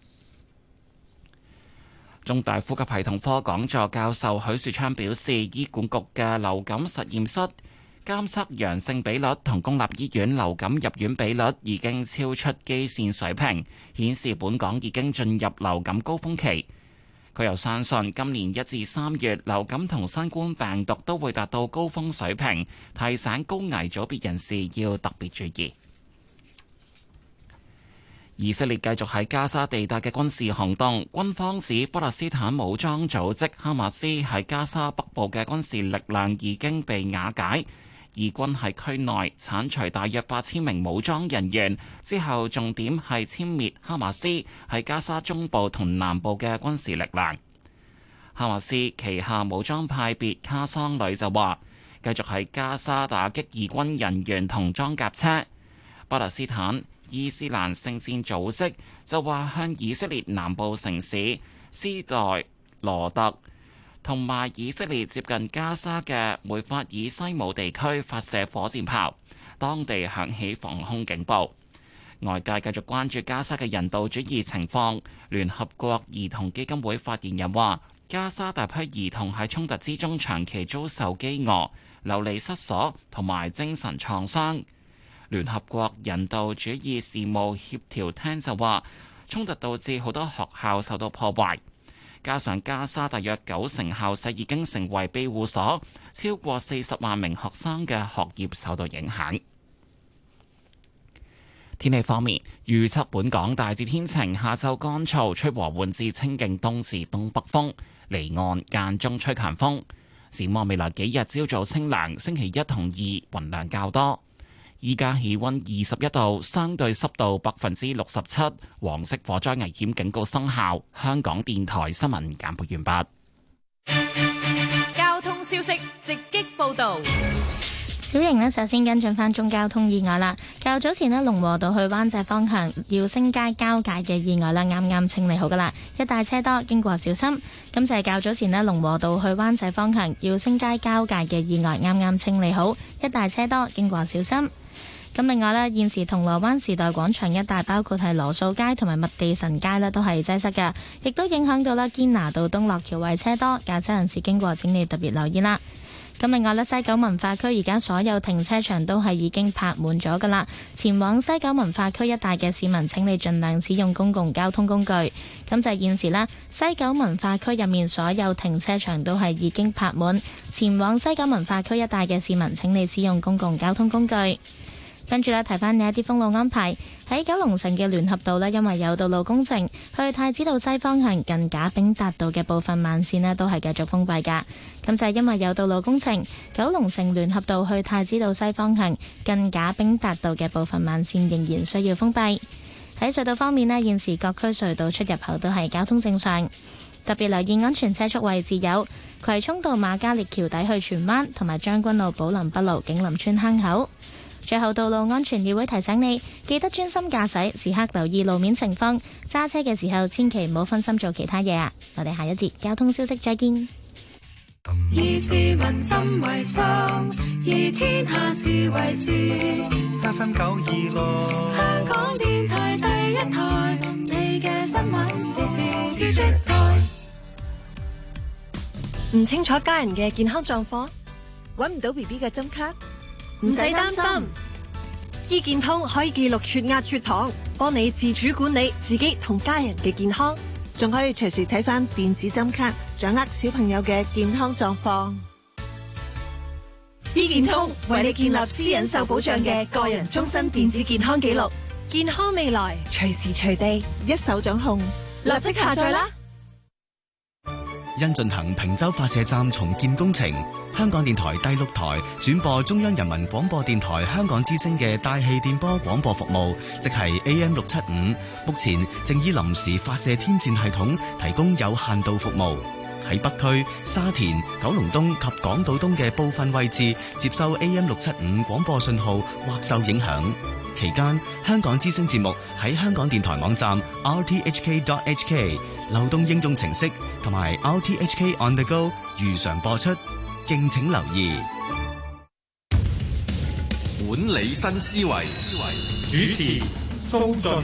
中大呼吸系統科講座教授許樹昌表示，醫管局嘅流感實驗室監測陽性比率同公立醫院流感入院比率已經超出基線水平，顯示本港已經進入流感高峰期。佢又相信今年1至3月流感同新冠病毒都會達到高峰水平，提醒高危組別人士要特別注意。以色列繼續喺加沙地帶嘅軍事行動，軍方指巴勒斯坦武裝組織哈馬斯喺加沙北部嘅軍事力量已經被瓦解，以軍喺區內剷除大約8000名武裝人員，之後重點係殲滅哈馬斯喺加沙中部同南部嘅軍事力量。哈馬斯旗下武裝派別卡桑旅就話，繼續喺加沙打擊義軍人員同裝甲車。巴勒斯坦伊斯蘭聖戰組織就話向以色列南部城市斯代羅特同埋以色列接近加沙嘅梅法爾西姆地區發射火箭炮，當地響起防空警報。外界繼續關注加沙嘅人道主義情況。聯合國兒童基金會發言人話，加沙大批兒童喺衝突之中長期遭受飢餓、流離失所同埋精神創傷。聯合國人道主義事務協調廳就話，衝突導致好多學校受到破壞，加上加沙大約90校舍已經成為庇護所，超過40萬名學生嘅學業受到影響。天氣方面，預測本港大致天晴，下晝乾燥，吹和緩至清勁東至東北風，離岸間中吹強風。展望未來幾日，朝早清涼，星期1同2雲量較多。依家氣溫21度，相對濕度67%，黃色火災危險警告生效。香港電台新聞簡報完畢。交通消息直擊報道。 小瑩呢，首先跟進翻中交通意外啦。較早前呢，龍和道去灣仔方向耀星街交界嘅意外啦，啱啱清理好噶啦，一帶車多，經過小心。咁就係較早前呢，龍和道去灣仔方向耀星街交界嘅意外啱啱清理好，一帶車多，經過小心。咁另外呢，現時銅鑼灣時代廣場一帶，包括係羅素街同埋麥地臣街呢，都係擠塞嘅，亦都影響到啦堅拿道東落橋位車多，駕車人士經過請你特別留意啦。 咁另外咧，西九文化區而家所有停車場都係已經泊滿咗噶啦。前往西九文化區一帶嘅市民，請你盡量使用公共交通工具。咁就係現時啦，西九文化區入面所有停車場都係已經泊滿。前往西九文化區一帶嘅市民，請你使用公共交通工具。跟住咧，提翻你一啲封路安排。喺九龍城嘅聯合道呢，因為有道路工程，去太子道西方向近賈炳達道嘅部分慢線呢都係繼續封閉㗎。咁就係因為有道路工程，九龍城聯合道去太子道西方向近賈炳達道嘅部分慢線仍然需要封閉。喺隧道方面呢，現時各區隧道出入口都係交通正常。特別留意安全車速位置有葵涌道瑪嘉烈橋底去荃灣，同埋將軍澳寶林北路景林村坑口。最後，道路安全議會提醒你，記得專心駕駛，時刻留意路面情況。揸車嘅時候，千祈唔好分心做其他嘢啊！我哋下一節交通消息再見。 以市民心為心，以天下事為事。 FM 926， 香港電台第一台，你嘅新聞時事知識台。 唔清楚家人嘅健康狀況， 搵唔到 BB 嘅針卡。 唔使擔心，醫健通可以記錄血壓、血糖，幫你自主管理自己同家人嘅健康， 仲可以隨時睇返電子針卡，掌握小朋友嘅健康狀況。 醫健通為你建立私隱受保障嘅個人終身電子健康記錄，健康未來隨時隨地一手掌控， 立即下載啦！ 因進行坪洲發射站重建工程，香港電台第6台轉播中央人民廣播電台香港之聲嘅大氣電波廣播服務，即係 AM675，目前正以臨時發射天線系統提供有限度服務。喺北區、沙田、九龍東及港島東嘅部分位置接收 AM675 廣播信號或受影響。期間，香港之聲節目喺香港電台網站 rthk.hk、流動應用程式同埋 RTHK On The Go 如常播出，敬請留意。 管理新思維， 主持蘇雋。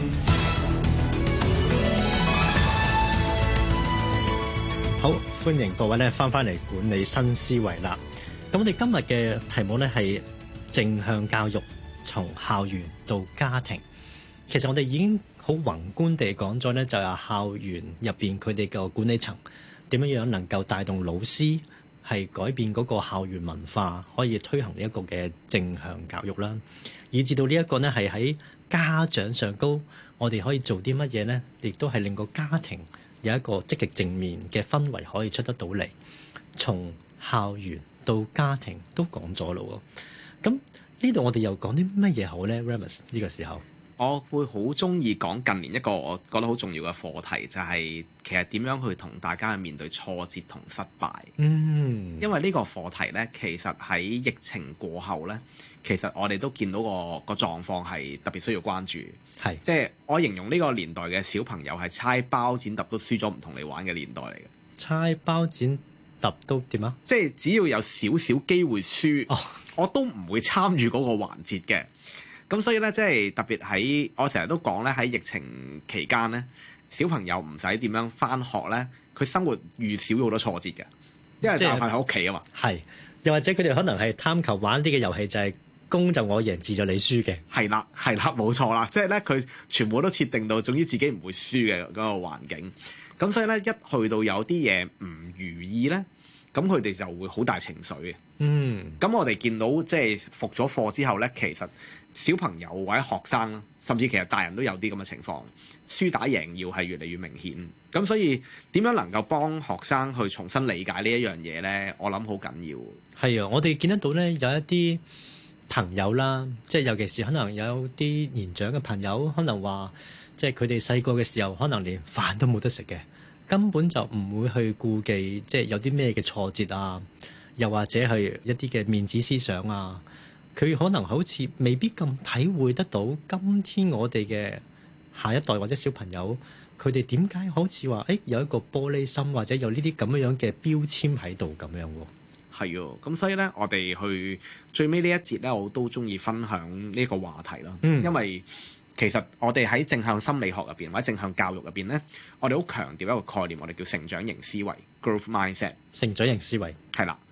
好，歡迎各位咧翻嚟管理新思維啦。咁我哋今日嘅題目咧係正向教育，從校園到家庭。其實我哋已經好宏觀地講咗咧，就係校園入邊佢哋嘅管理層點樣能夠帶動老師係改變嗰個校園文化，可以推行呢一個嘅正向教育啦。以至到呢一個呢係喺家長上高，我哋可以做啲乜嘢呢？亦都係令個家庭有一個積極正面嘅氛圍可以出得到嚟。從校園到家庭都講咗咯喎，咁呢度我哋又講啲乜嘢好呢？ Remus 呢個時候， 我會好中意講近年一個我覺得好重要嘅課題，就係其實點樣去同大家去面對挫折同失敗。因為呢個課題呢，其實喺疫情過後呢，其實我哋都見到個狀況係特別需要關注。係，即係我形容呢個年代嘅小朋友係猜包剪揼都輸咗唔同你玩嘅年代嚟嘅。猜包剪揼都點啊？即係只要有少少機會輸，我都唔會參與嗰個環節嘅。咁所以咧，即係特別喺我成日都講咧，喺疫情期間咧，小朋友唔使點樣返學咧，佢生活遇少咗好多挫折嘅，因為大部分喺屋企啊嘛。係，又或者佢哋可能係貪求玩啲嘅遊戲，就係公就我贏，字就你輸嘅。係啦，係啦，冇錯啦。即係咧，佢全部都設定到，總之自己唔會輸嘅嗰個環境。咁所以咧，一去到有啲嘢唔如意咧，咁佢哋就會好大情緒嘅。咁我哋見到即係復咗課之後咧，其實小朋友或者學生，甚至其實大人都有啲咁嘅情況，輸打贏要係越嚟越明顯。咁所以點樣能夠幫學生去重新理解呢一樣嘢咧？我諗好緊要。係啊，我哋見得到咧，有一啲朋友啦，即係尤其是可能有啲年長嘅朋友，可能話即係佢哋細個嘅時候，可能連飯都冇得食嘅，根本就唔會去顧忌，即係有啲咩嘅挫折啊，又或者係一啲嘅面子思想啊。佢可能好似未必咁體會得到今天我哋嘅下一代或者小朋友，佢哋點解好似話有一個玻璃心，或者有呢啲咁樣嘅標籤喺度咁樣喎。係喎，咁所以咧，我哋去最尾呢一節咧，我都中意分享呢個話題啦。因為其實我哋喺正向心理學入邊或者正向教育入邊咧，我哋好強調一個概念，我哋叫成長型思維 （growth mindset）。成長型思維係啦。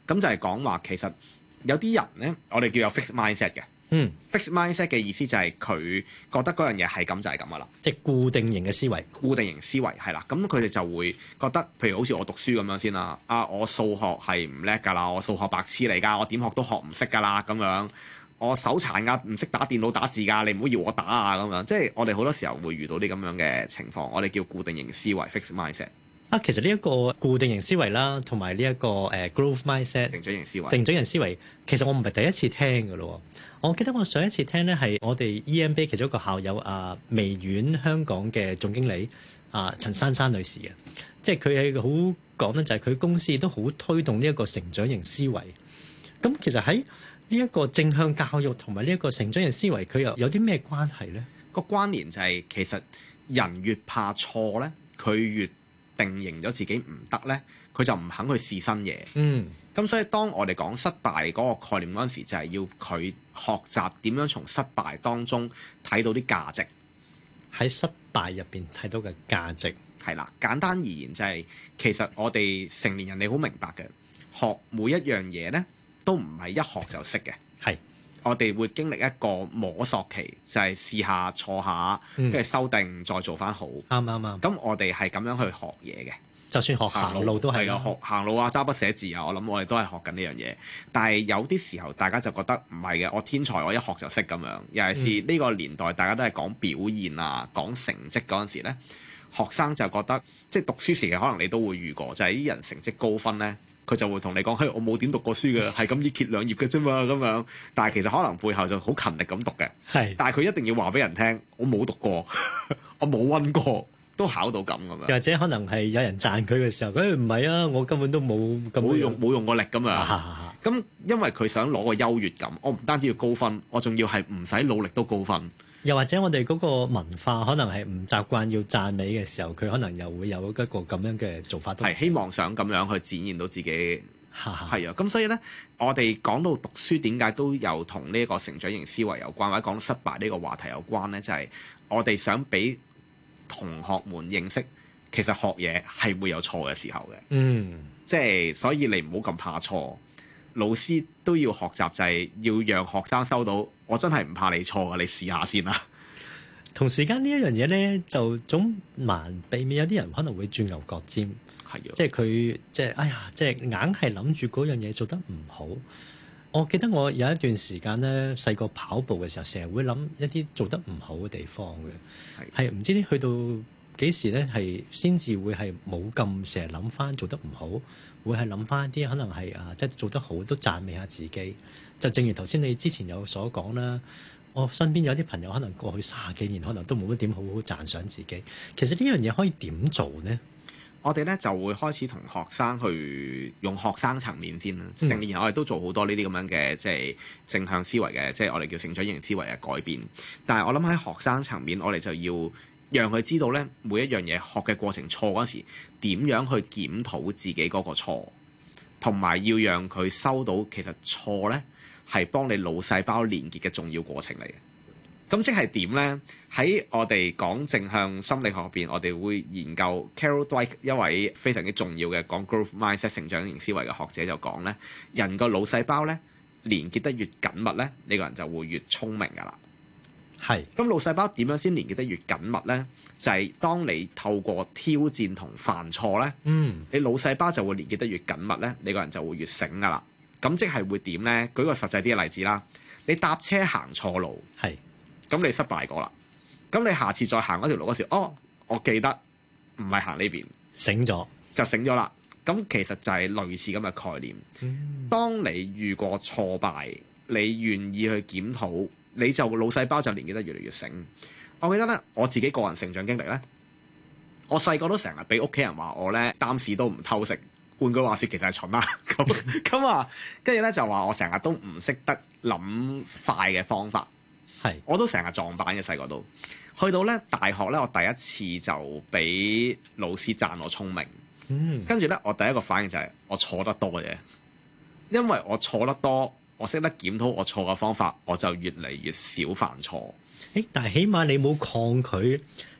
咁就係講話其實有啲人咧，我哋叫有 fixed mindset 嘅。fixed mindset 嘅意思就係佢覺得嗰樣嘢係咁就係咁噶啦， 即係固定型嘅思維。固定型思維係啦，咁佢哋就會覺得，譬如好似我讀書咁樣先啦，我數學係唔叻㗎啦，我數學白痴嚟㗎，我點學都學唔識㗎啦咁樣，我手殘㗎，唔識打電腦打字㗎，你唔好要我打啊咁樣，即係我哋好多時候會遇到啲咁樣嘅情況，我哋叫固定型思維 fixed mindset。 其實呢一個固定型思維啦，同埋呢一個growth mindset 成長型思維， 其實我唔係第一次聽㗎咯。我記得我上一次聽咧係我哋 EMBA 其中一個校友微軟香港嘅總經理陳珊珊女士嘅，即係佢係好講咧，就係佢公司都好推動呢一個成長型思維。咁其實喺呢一個正向教育同埋呢一個成長型思維，佢又有啲咩關係咧？ 個關聯就係其實人越怕錯咧，佢越定型咗自己唔得咧，佢就唔肯去試新嘢。咁所以當我哋講失敗嗰個概念嗰陣時，就係要佢學習點樣從失敗當中睇到啲價值， 喺失敗入邊睇到嘅價值。 係啦，簡單而言就係其實我哋成年人你好明白嘅，學每一樣嘢咧都唔係一學就識嘅。係，我哋會經歷一個摸索期，就係試下錯下，跟住修訂再做翻好。啱。咁我哋係咁樣去學嘢嘅。 就算學行路都係啊，學行路啊，揸筆寫字啊，我諗我哋都係學緊呢樣嘢。但係有啲時候，大家就覺得唔係嘅，我天才，我一學就識咁樣。尤其是呢個年代，大家都係講表現啊，講成績嗰陣時咧，學生就覺得即係讀書時期可能你都會遇過，就係啲人成績高分咧，佢就會同你講：嘿，我冇點讀過書嘅，係咁依揭兩頁嘅啫嘛，咁樣。但係其實可能背後就好勤力咁讀嘅。係。但係佢一定要話俾人聽，我冇讀過，我冇溫過。都考到咁樣， 又或者可能係有人讚佢嘅時候，佢唔係啊，我根本都冇用過力咁樣。咁因為佢想攞個優越感，我唔單止要高分，我仲要係唔使努力都高分。 又或者我哋嗰個文化可能係唔習慣要讚美嘅時候，佢可能又會有一個咁樣嘅做法。 係希望想咁樣去展現到自己。係啊，咁所以咧，我哋講到讀書點解都有同呢一個成長型思維有關，或者講到失敗呢個話題有關咧，就係我哋想俾同學們認識，其實學嘢係會有錯嘅時候嘅。即係所以你唔好咁怕錯，老師都要學習，就係要讓學生收到，我真係唔怕你錯啊，你試下先啦。 同時間呢一樣嘢咧，就總難避免有啲人可能會轉牛角尖，即係佢即係哎呀，即係硬係諗住嗰樣嘢做得唔好。我記得我有一段時間咧，細個跑步嘅時候，成日會諗一啲做得唔好嘅地方嘅，係唔知去到幾時咧，係先至會係冇咁成日諗翻做得唔好，會係諗翻一啲可能係即係做得好都讚美下自己。就正如頭先你之前有所講啦，我身邊有啲朋友可能過去30幾年，可能都冇乜點好好讚賞自己。其實呢樣嘢可以點做呢？ 我哋咧就會開始同學生去用學生層面先啦。成年人我哋都做好多呢啲咁樣嘅即係正向思維嘅，即係我哋叫成長型思維嘅改變。但係我諗喺學生層面，我哋就要讓佢知道咧，每一樣嘢學嘅過程錯嗰時，點樣去檢討自己嗰個錯，同埋要讓佢收到其實錯咧係幫你腦細胞連結嘅重要過程嚟嘅。咁即係點咧？喺我哋講正向心理學入邊，我哋會研究 Carol Dweck 一位非常之重要嘅講 growth mindset 成長型思維嘅學者就講咧，人個腦細胞咧連結得越緊密咧，呢個人就會越聰明噶啦。係。咁腦細胞點樣先連結得越緊密咧？就係當你透過挑戰同犯錯咧，你腦細胞就會連結得越緊密咧，你個人就會越醒噶啦。咁即係會點咧？舉個實際啲嘅例子啦，你搭車行錯路，係。咁你失敗過啦，咁你下次再行嗰條路嗰時，我記得唔係行呢邊，醒咗就醒咗啦。咁其實就係類似咁嘅概念。當你遇過挫敗，你願意去檢討，你就腦細胞就連結得越嚟越醒。我記得咧，我自己個人成長經歷咧，我細個都成日俾屋企人話我咧擔屎都唔偷食。換句話說，其實係蠢啦。咁啊，跟住咧就話我成日都唔識得諗快嘅方法。係，我都成日撞板嘅細個都，去到咧大學咧，我第一次就俾老師讚我聰明，跟住咧我第一個反應就係我錯得多嘅，因為我錯得多，我識得檢討我錯嘅方法，我就越嚟越少犯錯。但係起碼你冇抗拒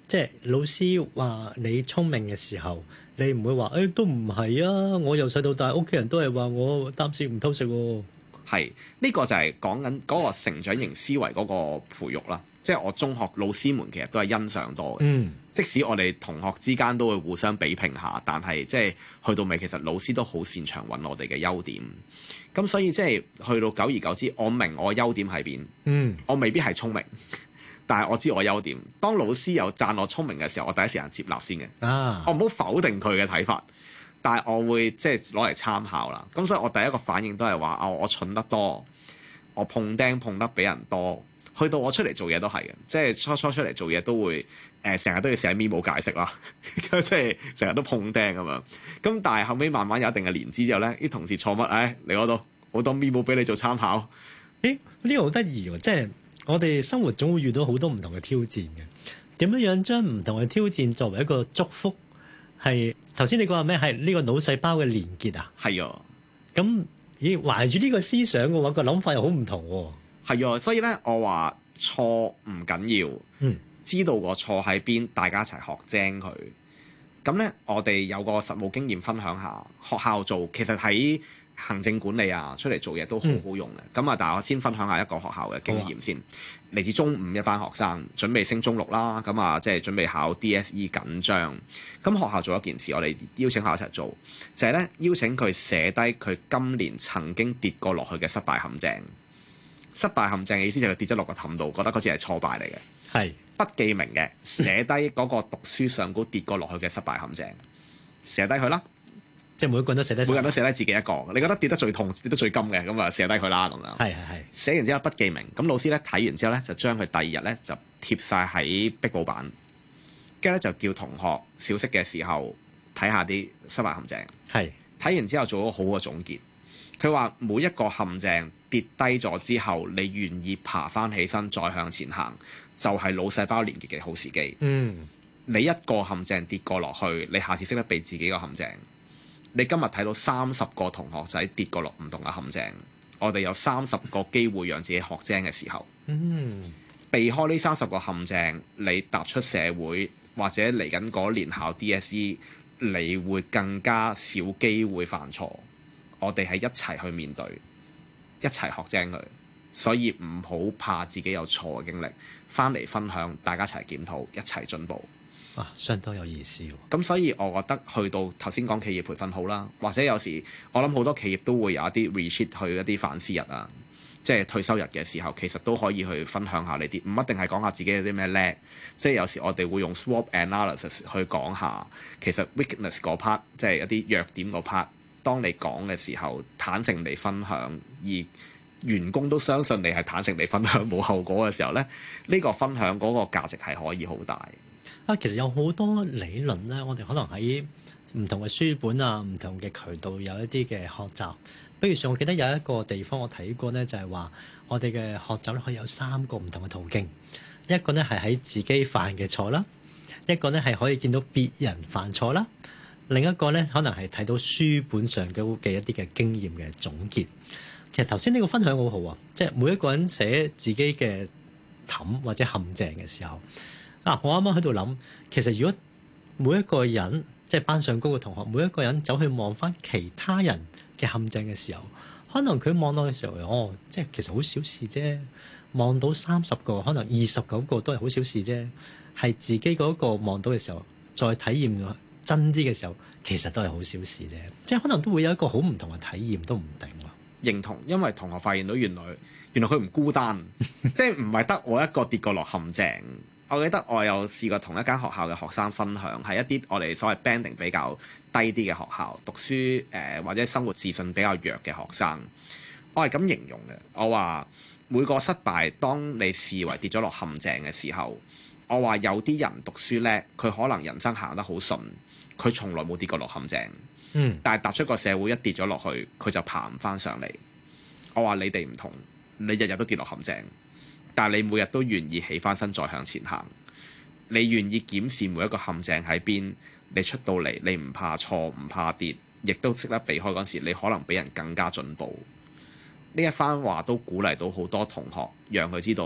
即係老師話你聰明嘅時候，你唔會話都唔係啊！我由細到大屋企人都係話我擔屎唔偷食喎。 係呢個就係講緊嗰個成長型思維嗰個培育啦。即係我中學老師們其實都係欣賞多嘅。即使我哋同學之間都會互相比拼下，但係即係去到尾，其實老師都好擅長揾我哋嘅優點。咁所以即係去到久而久之，我明我優點喺邊。我未必係聰明，但係我知我優點。當老師有讚我聰明嘅時候，我第一時間接納先嘅。我唔好否定佢嘅睇法，但係我會即係攞嚟參考啦。咁所以我第一個反應都係話我蠢得多，我碰釘碰得比人多。去到我出嚟做嘢都係嘅，即係初出嚟做嘢都會成日都要寫 memo 解釋啦，即係成日都碰釘咁樣。咁但係後尾慢慢有一定嘅年資之後咧，啲同事錯乜嚟嗰度好多 memo 俾你做參考。 呢個好得意喎！即係我哋生活總會遇到好多唔同嘅挑戰嘅。點樣將唔同嘅挑戰作為一個祝福？係頭先你講話咩？係呢個腦細胞嘅連結啊？ 係啊。 咁懷住呢個思想嘅話，個諗法又好唔同喎。 係啊，所以咧，我話錯唔緊要，知道個錯喺邊，大家一齊學精佢。咁咧，我哋有個實務經驗分享下，學校做其實喺行政管理啊，出嚟做嘢都好好用嘅。咁但係我先分享下一個學校嘅經驗先。嚟自中五一班學生準備升中六啦，即係準備考 DSE 緊張。咁學校做一件事，我哋邀請佢一齊做，就係咧邀請佢寫低佢今年曾經跌過落去嘅失敗陷阱。失敗陷阱嘅意思就係佢跌咗落個氹度，覺得嗰次係挫敗嚟嘅。 係不記名嘅，寫低嗰個讀書上高跌過落去嘅失敗陷阱，寫低佢啦。 即係每一個人都寫低， 每個人都寫低自己一個。你覺得跌得最痛、跌得最金嘅，咁啊寫低佢啦咁樣。 係。 寫完之後不記名，咁老師咧睇完之後咧就將佢第二日咧就貼晒喺壁布板，跟住咧就叫同學小息嘅時候睇下啲失敗陷阱。係睇完之後做咗好嘅總結。佢話每一個陷阱跌低咗之後，你願意爬翻起身再向前行，就係腦細胞連結嘅好時機。你一個陷阱跌過落去，你下次識得避自己個陷阱。你今日睇到30個同學仔跌過落唔同嘅陷阱，我哋有30個機會讓自己學精嘅時候，避開呢30個陷阱，你踏出社會或者嚟緊嗰年考 DSE， 你會更加少機會犯錯。我哋係一齊去面對，一齊學精佢，所以唔好怕自己有錯嘅經歷，翻嚟分享，大家一齊檢討，一齊進步。 相當有意思喎。 咁所以我覺得去到頭先講企業培訓好啦，或者有時我諗好多企業都會有一啲 retreat 去一啲反思日啊，即係退休日嘅時候，其實都可以去分享下呢啲，唔一定係講下自己有啲咩叻，即係有時我哋會用 SWOT analysis 去講下，其實 weakness 嗰 part 即係一啲弱點嗰 part， 當你講嘅時候坦誠地分享，而員工都相信你係坦誠地分享冇後果嘅時候咧，呢個分享嗰個價值係可以好大。 其實有好多理論咧，我哋可能喺唔同嘅書本啊、唔同嘅渠道有一啲嘅學習。比如上，我記得有一個地方我睇過咧，就係話我哋嘅學習咧可以有3個唔同嘅途徑。一個咧係喺自己犯嘅錯啦，一個咧係可以見到別人犯錯啦，另一個咧可能係睇到書本上嘅一啲嘅經驗嘅總結。其實頭先呢個分享好好啊，即係每一個人寫自己嘅氹或者陷阱嘅時候。我啱啱喺度諗，其實如果每一個人即係班上高嘅同學，每一個人走去望翻其他人嘅陷阱嘅時候，可能佢望落嘅時候，即係其實好小事啫。望到30個，可能29個都係好小事啫。係自己嗰個望到嘅時候，再體驗真啲嘅時候，其實都係好小事啫。即係可能都會有一個好唔同嘅體驗，都唔定。 認同，因為同學發現到原來佢唔孤單，即係唔係得我一個跌過落陷阱。我記得我有試過同一間學校嘅學生分享，係一啲我哋所謂 banding 比較低啲嘅學校，讀書或者生活自信比較弱嘅學生。我係咁形容嘅，我話每個失敗，當你視為跌咗落陷阱嘅時候，我話有啲人讀書叻，佢可能人生行得好順，佢從來冇跌過落陷阱。但係踏出個社會一跌咗落去，佢就爬唔翻上嚟。我話你哋唔同，你日日都跌落陷阱。但係你每日都願意起翻身再向前行，你願意檢視每一個陷阱喺邊，你出到嚟你唔怕錯唔怕跌，亦都識得避開嗰時，你可能比人更加進步。呢一番話都鼓勵到好多同學，讓佢知道嗰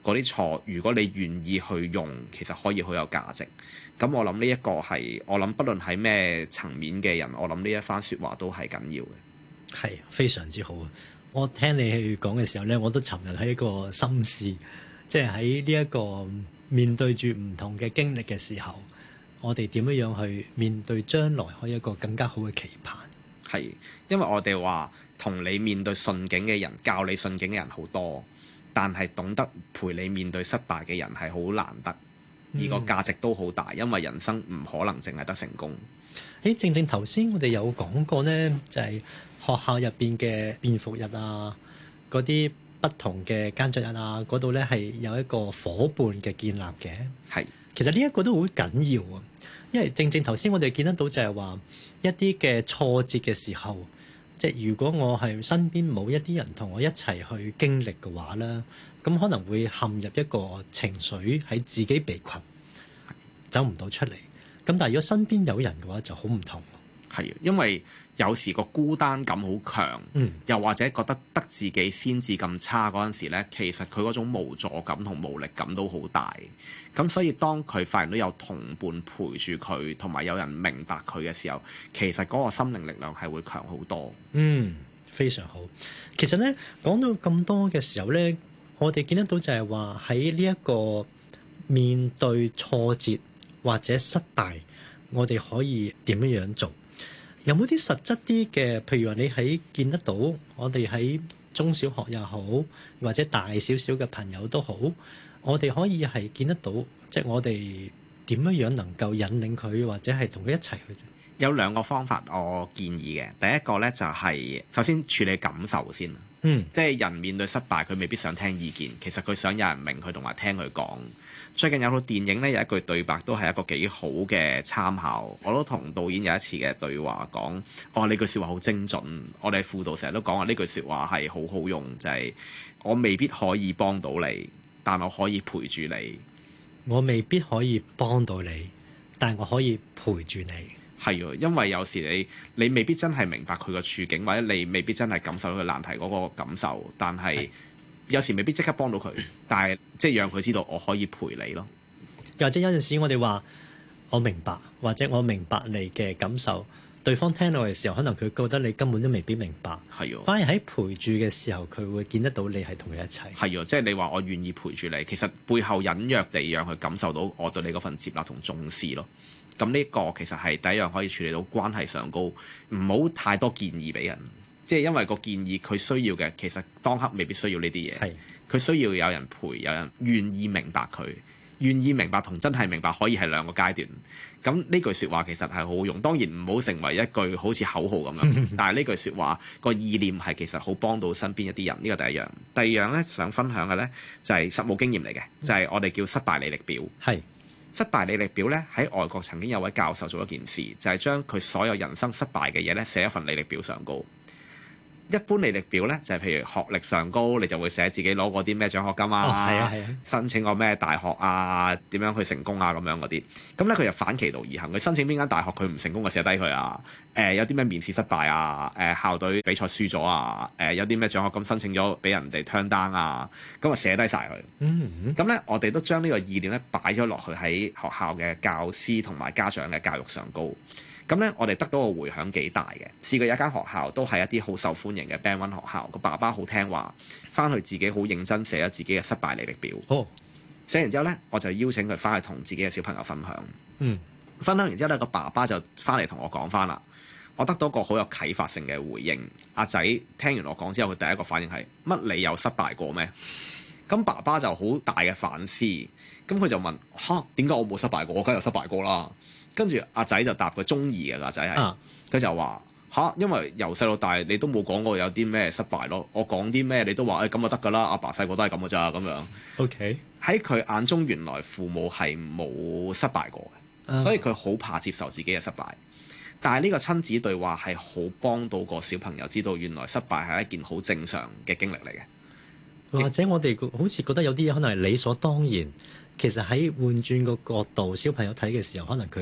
嗰啲錯，如果你願意去用，其實可以好有價值。咁我諗呢一個係我諗，不論喺咩層面嘅人，我諗呢一番説話都係緊要嘅。 係非常之好啊！我聽你去講嘅時候咧，我都尋日喺一個心思，即係喺呢一個面對住唔同嘅經歷嘅時候，我哋點樣去面對將來可以一個更加好嘅期盼。 係，因為我哋話同你面對順境嘅人，教你順境嘅人好多，但係懂得陪你面對失敗嘅人係好難得，而個價值都好大，因為人生唔可能淨係得成功。 正頭先我哋有講過呢，就係學校入邊嘅便服日啊，嗰啲不同嘅耕作日啊，嗰度咧係有一個伙伴嘅建立嘅。 係， 其實呢一個都好緊要啊，因為正頭先我哋見得到就係話一啲嘅挫折嘅時候，即係如果我係身邊冇一啲人同我一齊去經歷嘅話咧，咁可能會陷入一個情緒喺自己被困，走唔到出嚟。咁但係如果身邊有人嘅話就好唔同。 係，因為有時個孤單感好強，又或者覺得得自己先至咁差嗰陣時咧，其實佢嗰種無助感同無力感都好大。咁所以當佢發現到有同伴陪住佢，同埋有人明白佢嘅時候，其實嗰個心靈力量係會強好多。 非常好。其實咧講到咁多嘅時候咧，我哋見得到就係話喺呢一個面對挫折或者失敗，我哋可以點樣做？有冇啲實質啲嘅？譬如話你喺見得到，我哋喺中小學又好，或者大少少嘅朋友都好，我哋可以係見得到，即係我哋點樣能夠引領佢，或者係同佢一齊去。 有兩個方法我建議嘅，第一個咧就係首先處理感受先。即係人面對失敗，佢未必想聽意見，其實佢想有人明佢同埋聽佢講。最近有套電影咧，有一句對白都係一個幾好嘅參考。我都同導演有一次嘅對話講，呢句説話好精準。我哋輔導成日都講話呢句説話係好好用，就係我未必可以幫到你，但我可以陪住你。 我未必可以幫到你，但我可以陪住你。 係喎，因為有時你未必真係明白佢個處境，或者你未必真係感受到佢難題嗰個感受，但係有時未必即刻幫到佢，但係即係讓佢知道我可以陪你咯。 又或者有陣時我哋話我明白，或者我明白你嘅感受，對方聽到嘅時候，可能佢覺得你根本都未必明白。 係喎， 反而喺陪住嘅時候，佢會見得到你係同佢一齊。 係喎，即係你話我願意陪住你，其實背後隱約地讓佢感受到我對你嗰份接納同重視咯。咁呢個其實係第一樣可以處理到關係上高，唔好太多建議俾人，即係因為個建議佢需要嘅，其實當刻未必需要呢啲嘢。佢需要有人陪，有人願意明白佢，願意明白同真係明白可以係兩個階段。咁呢句説話其實係好好用，當然唔好成為一句好似口號咁樣。但係呢句説話個意念係其實好幫到身邊一啲人。呢個第一樣。第二樣咧想分享嘅咧就係實務經驗嚟嘅，就係我哋叫失敗履歷表。失敗履歷表咧喺外國曾經有位教授做一件事，就係將佢所有人生失敗嘅嘢咧寫一份履歷表上高。一般履歷表咧就係譬如學歷上高，你就會寫自己攞過啲咩獎學金啊，申請過咩大學啊，點樣去成功啊咁樣嗰啲。咁咧佢就反其道而行，佢申請邊間大學佢唔成功就寫低佢啊。有啲咩面試失敗啊，校隊比賽輸咗啊，有啲咩獎學金申請咗俾人哋 turn down 啊，咁啊寫低晒佢。咁咧我哋都將呢個意念咧擺咗落去喺學校嘅教師同埋家長嘅教育上高。咁咧，我哋得到個迴響幾大嘅。試過有一間學校都係一啲好受歡迎嘅 Band 1學校，個爸爸好聽話，翻去自己好認真寫咗自己嘅失敗履歷表。寫完之後咧，我就邀請佢翻去同自己嘅小朋友分享。分享完之後咧，個爸爸就翻嚟同我講翻啦。我得到個好有啟發性嘅回應。阿仔聽完我講之後，佢第一個反應係乜？你有失敗過咩？咁爸爸就好大嘅反思。咁佢就問：點解我冇失敗過？我梗係有失敗過啦。跟住阿仔就答佢中二嘅阿仔係，佢就話因為由細到大你都冇講過有啲咩失敗咯，我講啲咩你都話咁就得㗎啦，阿爸細個都係咁㗎咋咁樣。喺佢眼中原來父母係冇失敗過嘅，所以佢好怕接受自己嘅失敗。但係呢個親子對話係好幫到個小朋友知道原來失敗係一件好正常嘅經歷嚟嘅。 或者我哋好似覺得有啲嘢可能係理所當然，其實喺換轉個角度，小朋友睇嘅時候，可能佢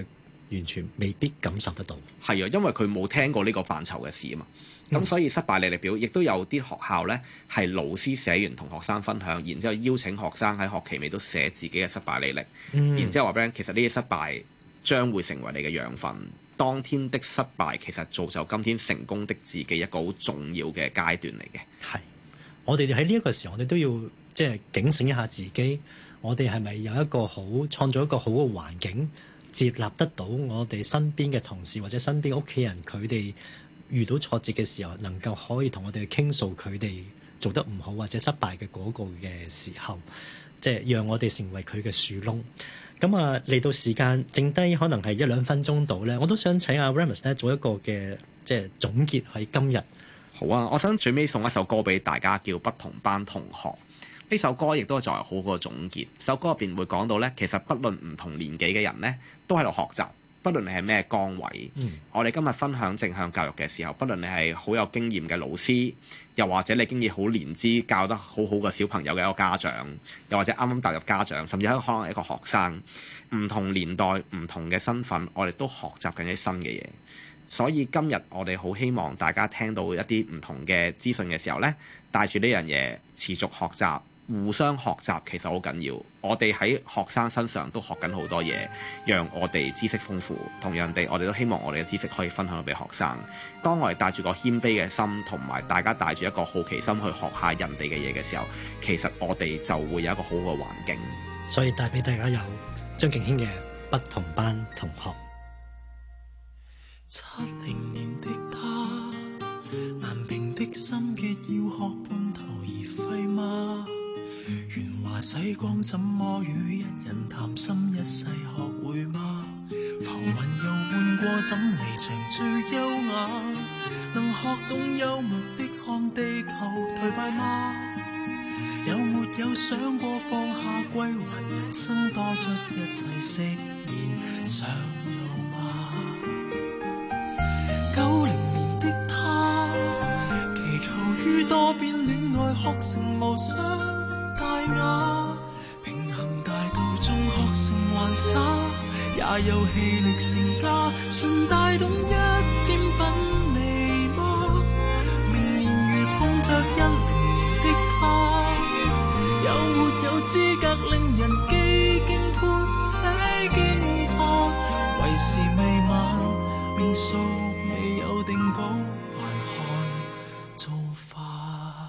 完全未必感受得到。 係啊，因為佢冇聽過呢個範疇嘅事啊嘛。咁所以失敗履歷表亦都有啲學校呢係老師寫完同學生分享，然之後邀請學生喺學期尾都寫自己嘅失敗履歷，然之後話俾人其實呢啲失敗將會成為你嘅養分。當天的失敗其實造就今天成功的自己一個好重要嘅階段嚟嘅。 係，我哋喺呢一個時候，我哋都要即係警醒一下自己，我哋係咪有一個好創造一個好嘅環境，接納得到我哋身邊嘅同事或者身邊屋企人，佢哋遇到挫折嘅時候，能夠可以同我哋去傾訴佢哋做得唔好或者失敗嘅嗰個嘅時候，即係讓我哋成為佢嘅樹窿。咁啊，嚟到時間剩低可能係1-2分鐘到咧，我都想請阿 Remus 咧做一個嘅即係總結喺今日。 好啊，我想最尾送一首歌俾大家，叫《不同班同學》。呢首歌亦都作為好個總結。首歌入邊會講到咧，其實不論唔同年紀嘅人咧，都喺度學習。不論你係咩崗位，我哋今日分享正向教育嘅時候，不論你係好有經驗嘅老師，又或者你經驗好年資教得好好嘅小朋友嘅一個家長，又或者啱啱踏入家長，甚至可能係一個學生，唔同年代、唔同嘅身份，我哋都學習緊一啲新嘅嘢。所以今日我哋好希望大家聽到一啲唔同嘅資訊嘅時候呢，帶住呢樣嘢持續學習。互相學習其實好緊要，我哋喺學生身上都學緊好多嘢，讓我哋知識豐富。同樣地，我哋都希望我哋嘅知識可以分享到俾學生。當我哋帶住個謙卑嘅心，同埋大家帶住一個好奇心去學下人哋嘅嘢嘅時候，其實我哋就會有一個好嘅環境。 所以帶俾大家有張敬軒嘅不同班同學。 70年的他，難平的心結要學半途而廢嗎？鉛華洗光，怎麼與一人談心一世學會嗎？浮雲又換過，怎離場最優雅？能學懂幽默的看地球頹敗嗎？有沒有想過放下歸還人生，多出一切釋然上路嗎？90年的他，祈求於多變戀愛學成無雙大雅，平衡大道中學成還灑，也有氣力成家，順帶懂一點品味嗎？明年如碰着10年的他，有沒有資格令人既敬佩且驚怕？為時未晚，命數未有定稿，還看造化。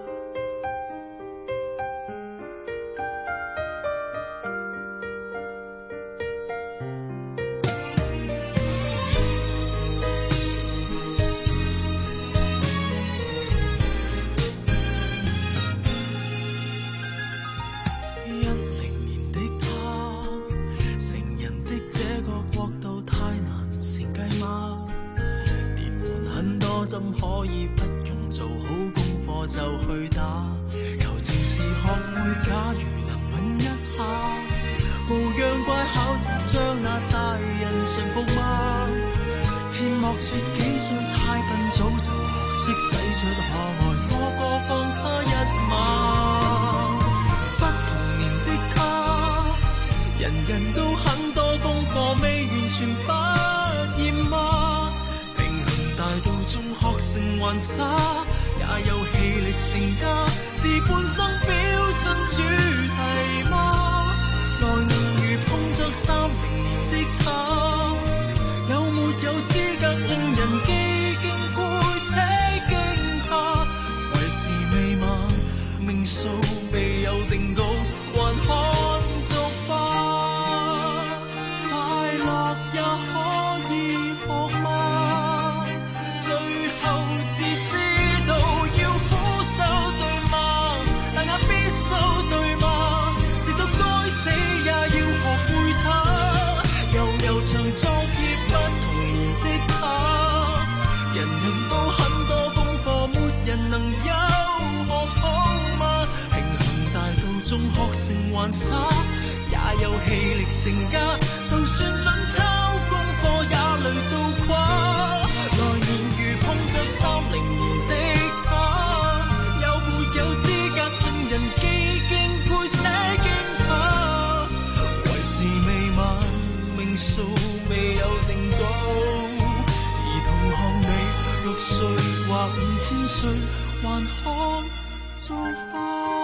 怎可以不用做好功課就去打？求情時學會，假如能吻一下，無恙怪考題將那大人馴服嗎？切莫說幾歲太笨，早就學識使出可愛，個個放他一馬。不同年的他，人人都很多功課，未完全不厭嗎？大道中學成還灑，也有氣力成家，是半生標準主題嗎？來年如碰着30年的他，有沒有資格令人既敬佩且驚怕？為時未晚，命數未有定稿，還看續吧。快樂也可以學嗎？最後只知道要俯首對嗎？但也必修對嗎？直到該死也要學會它。悠長作業不同年的他，人人都很多功課，沒人能優學好嗎？平衡大道中學成還灑，也有氣力成家，就算準抄功課也累到垮。碰着30年的他，有沒有資格令人既敬佩且驚怕？為時未晚，命數未有誰還可造化？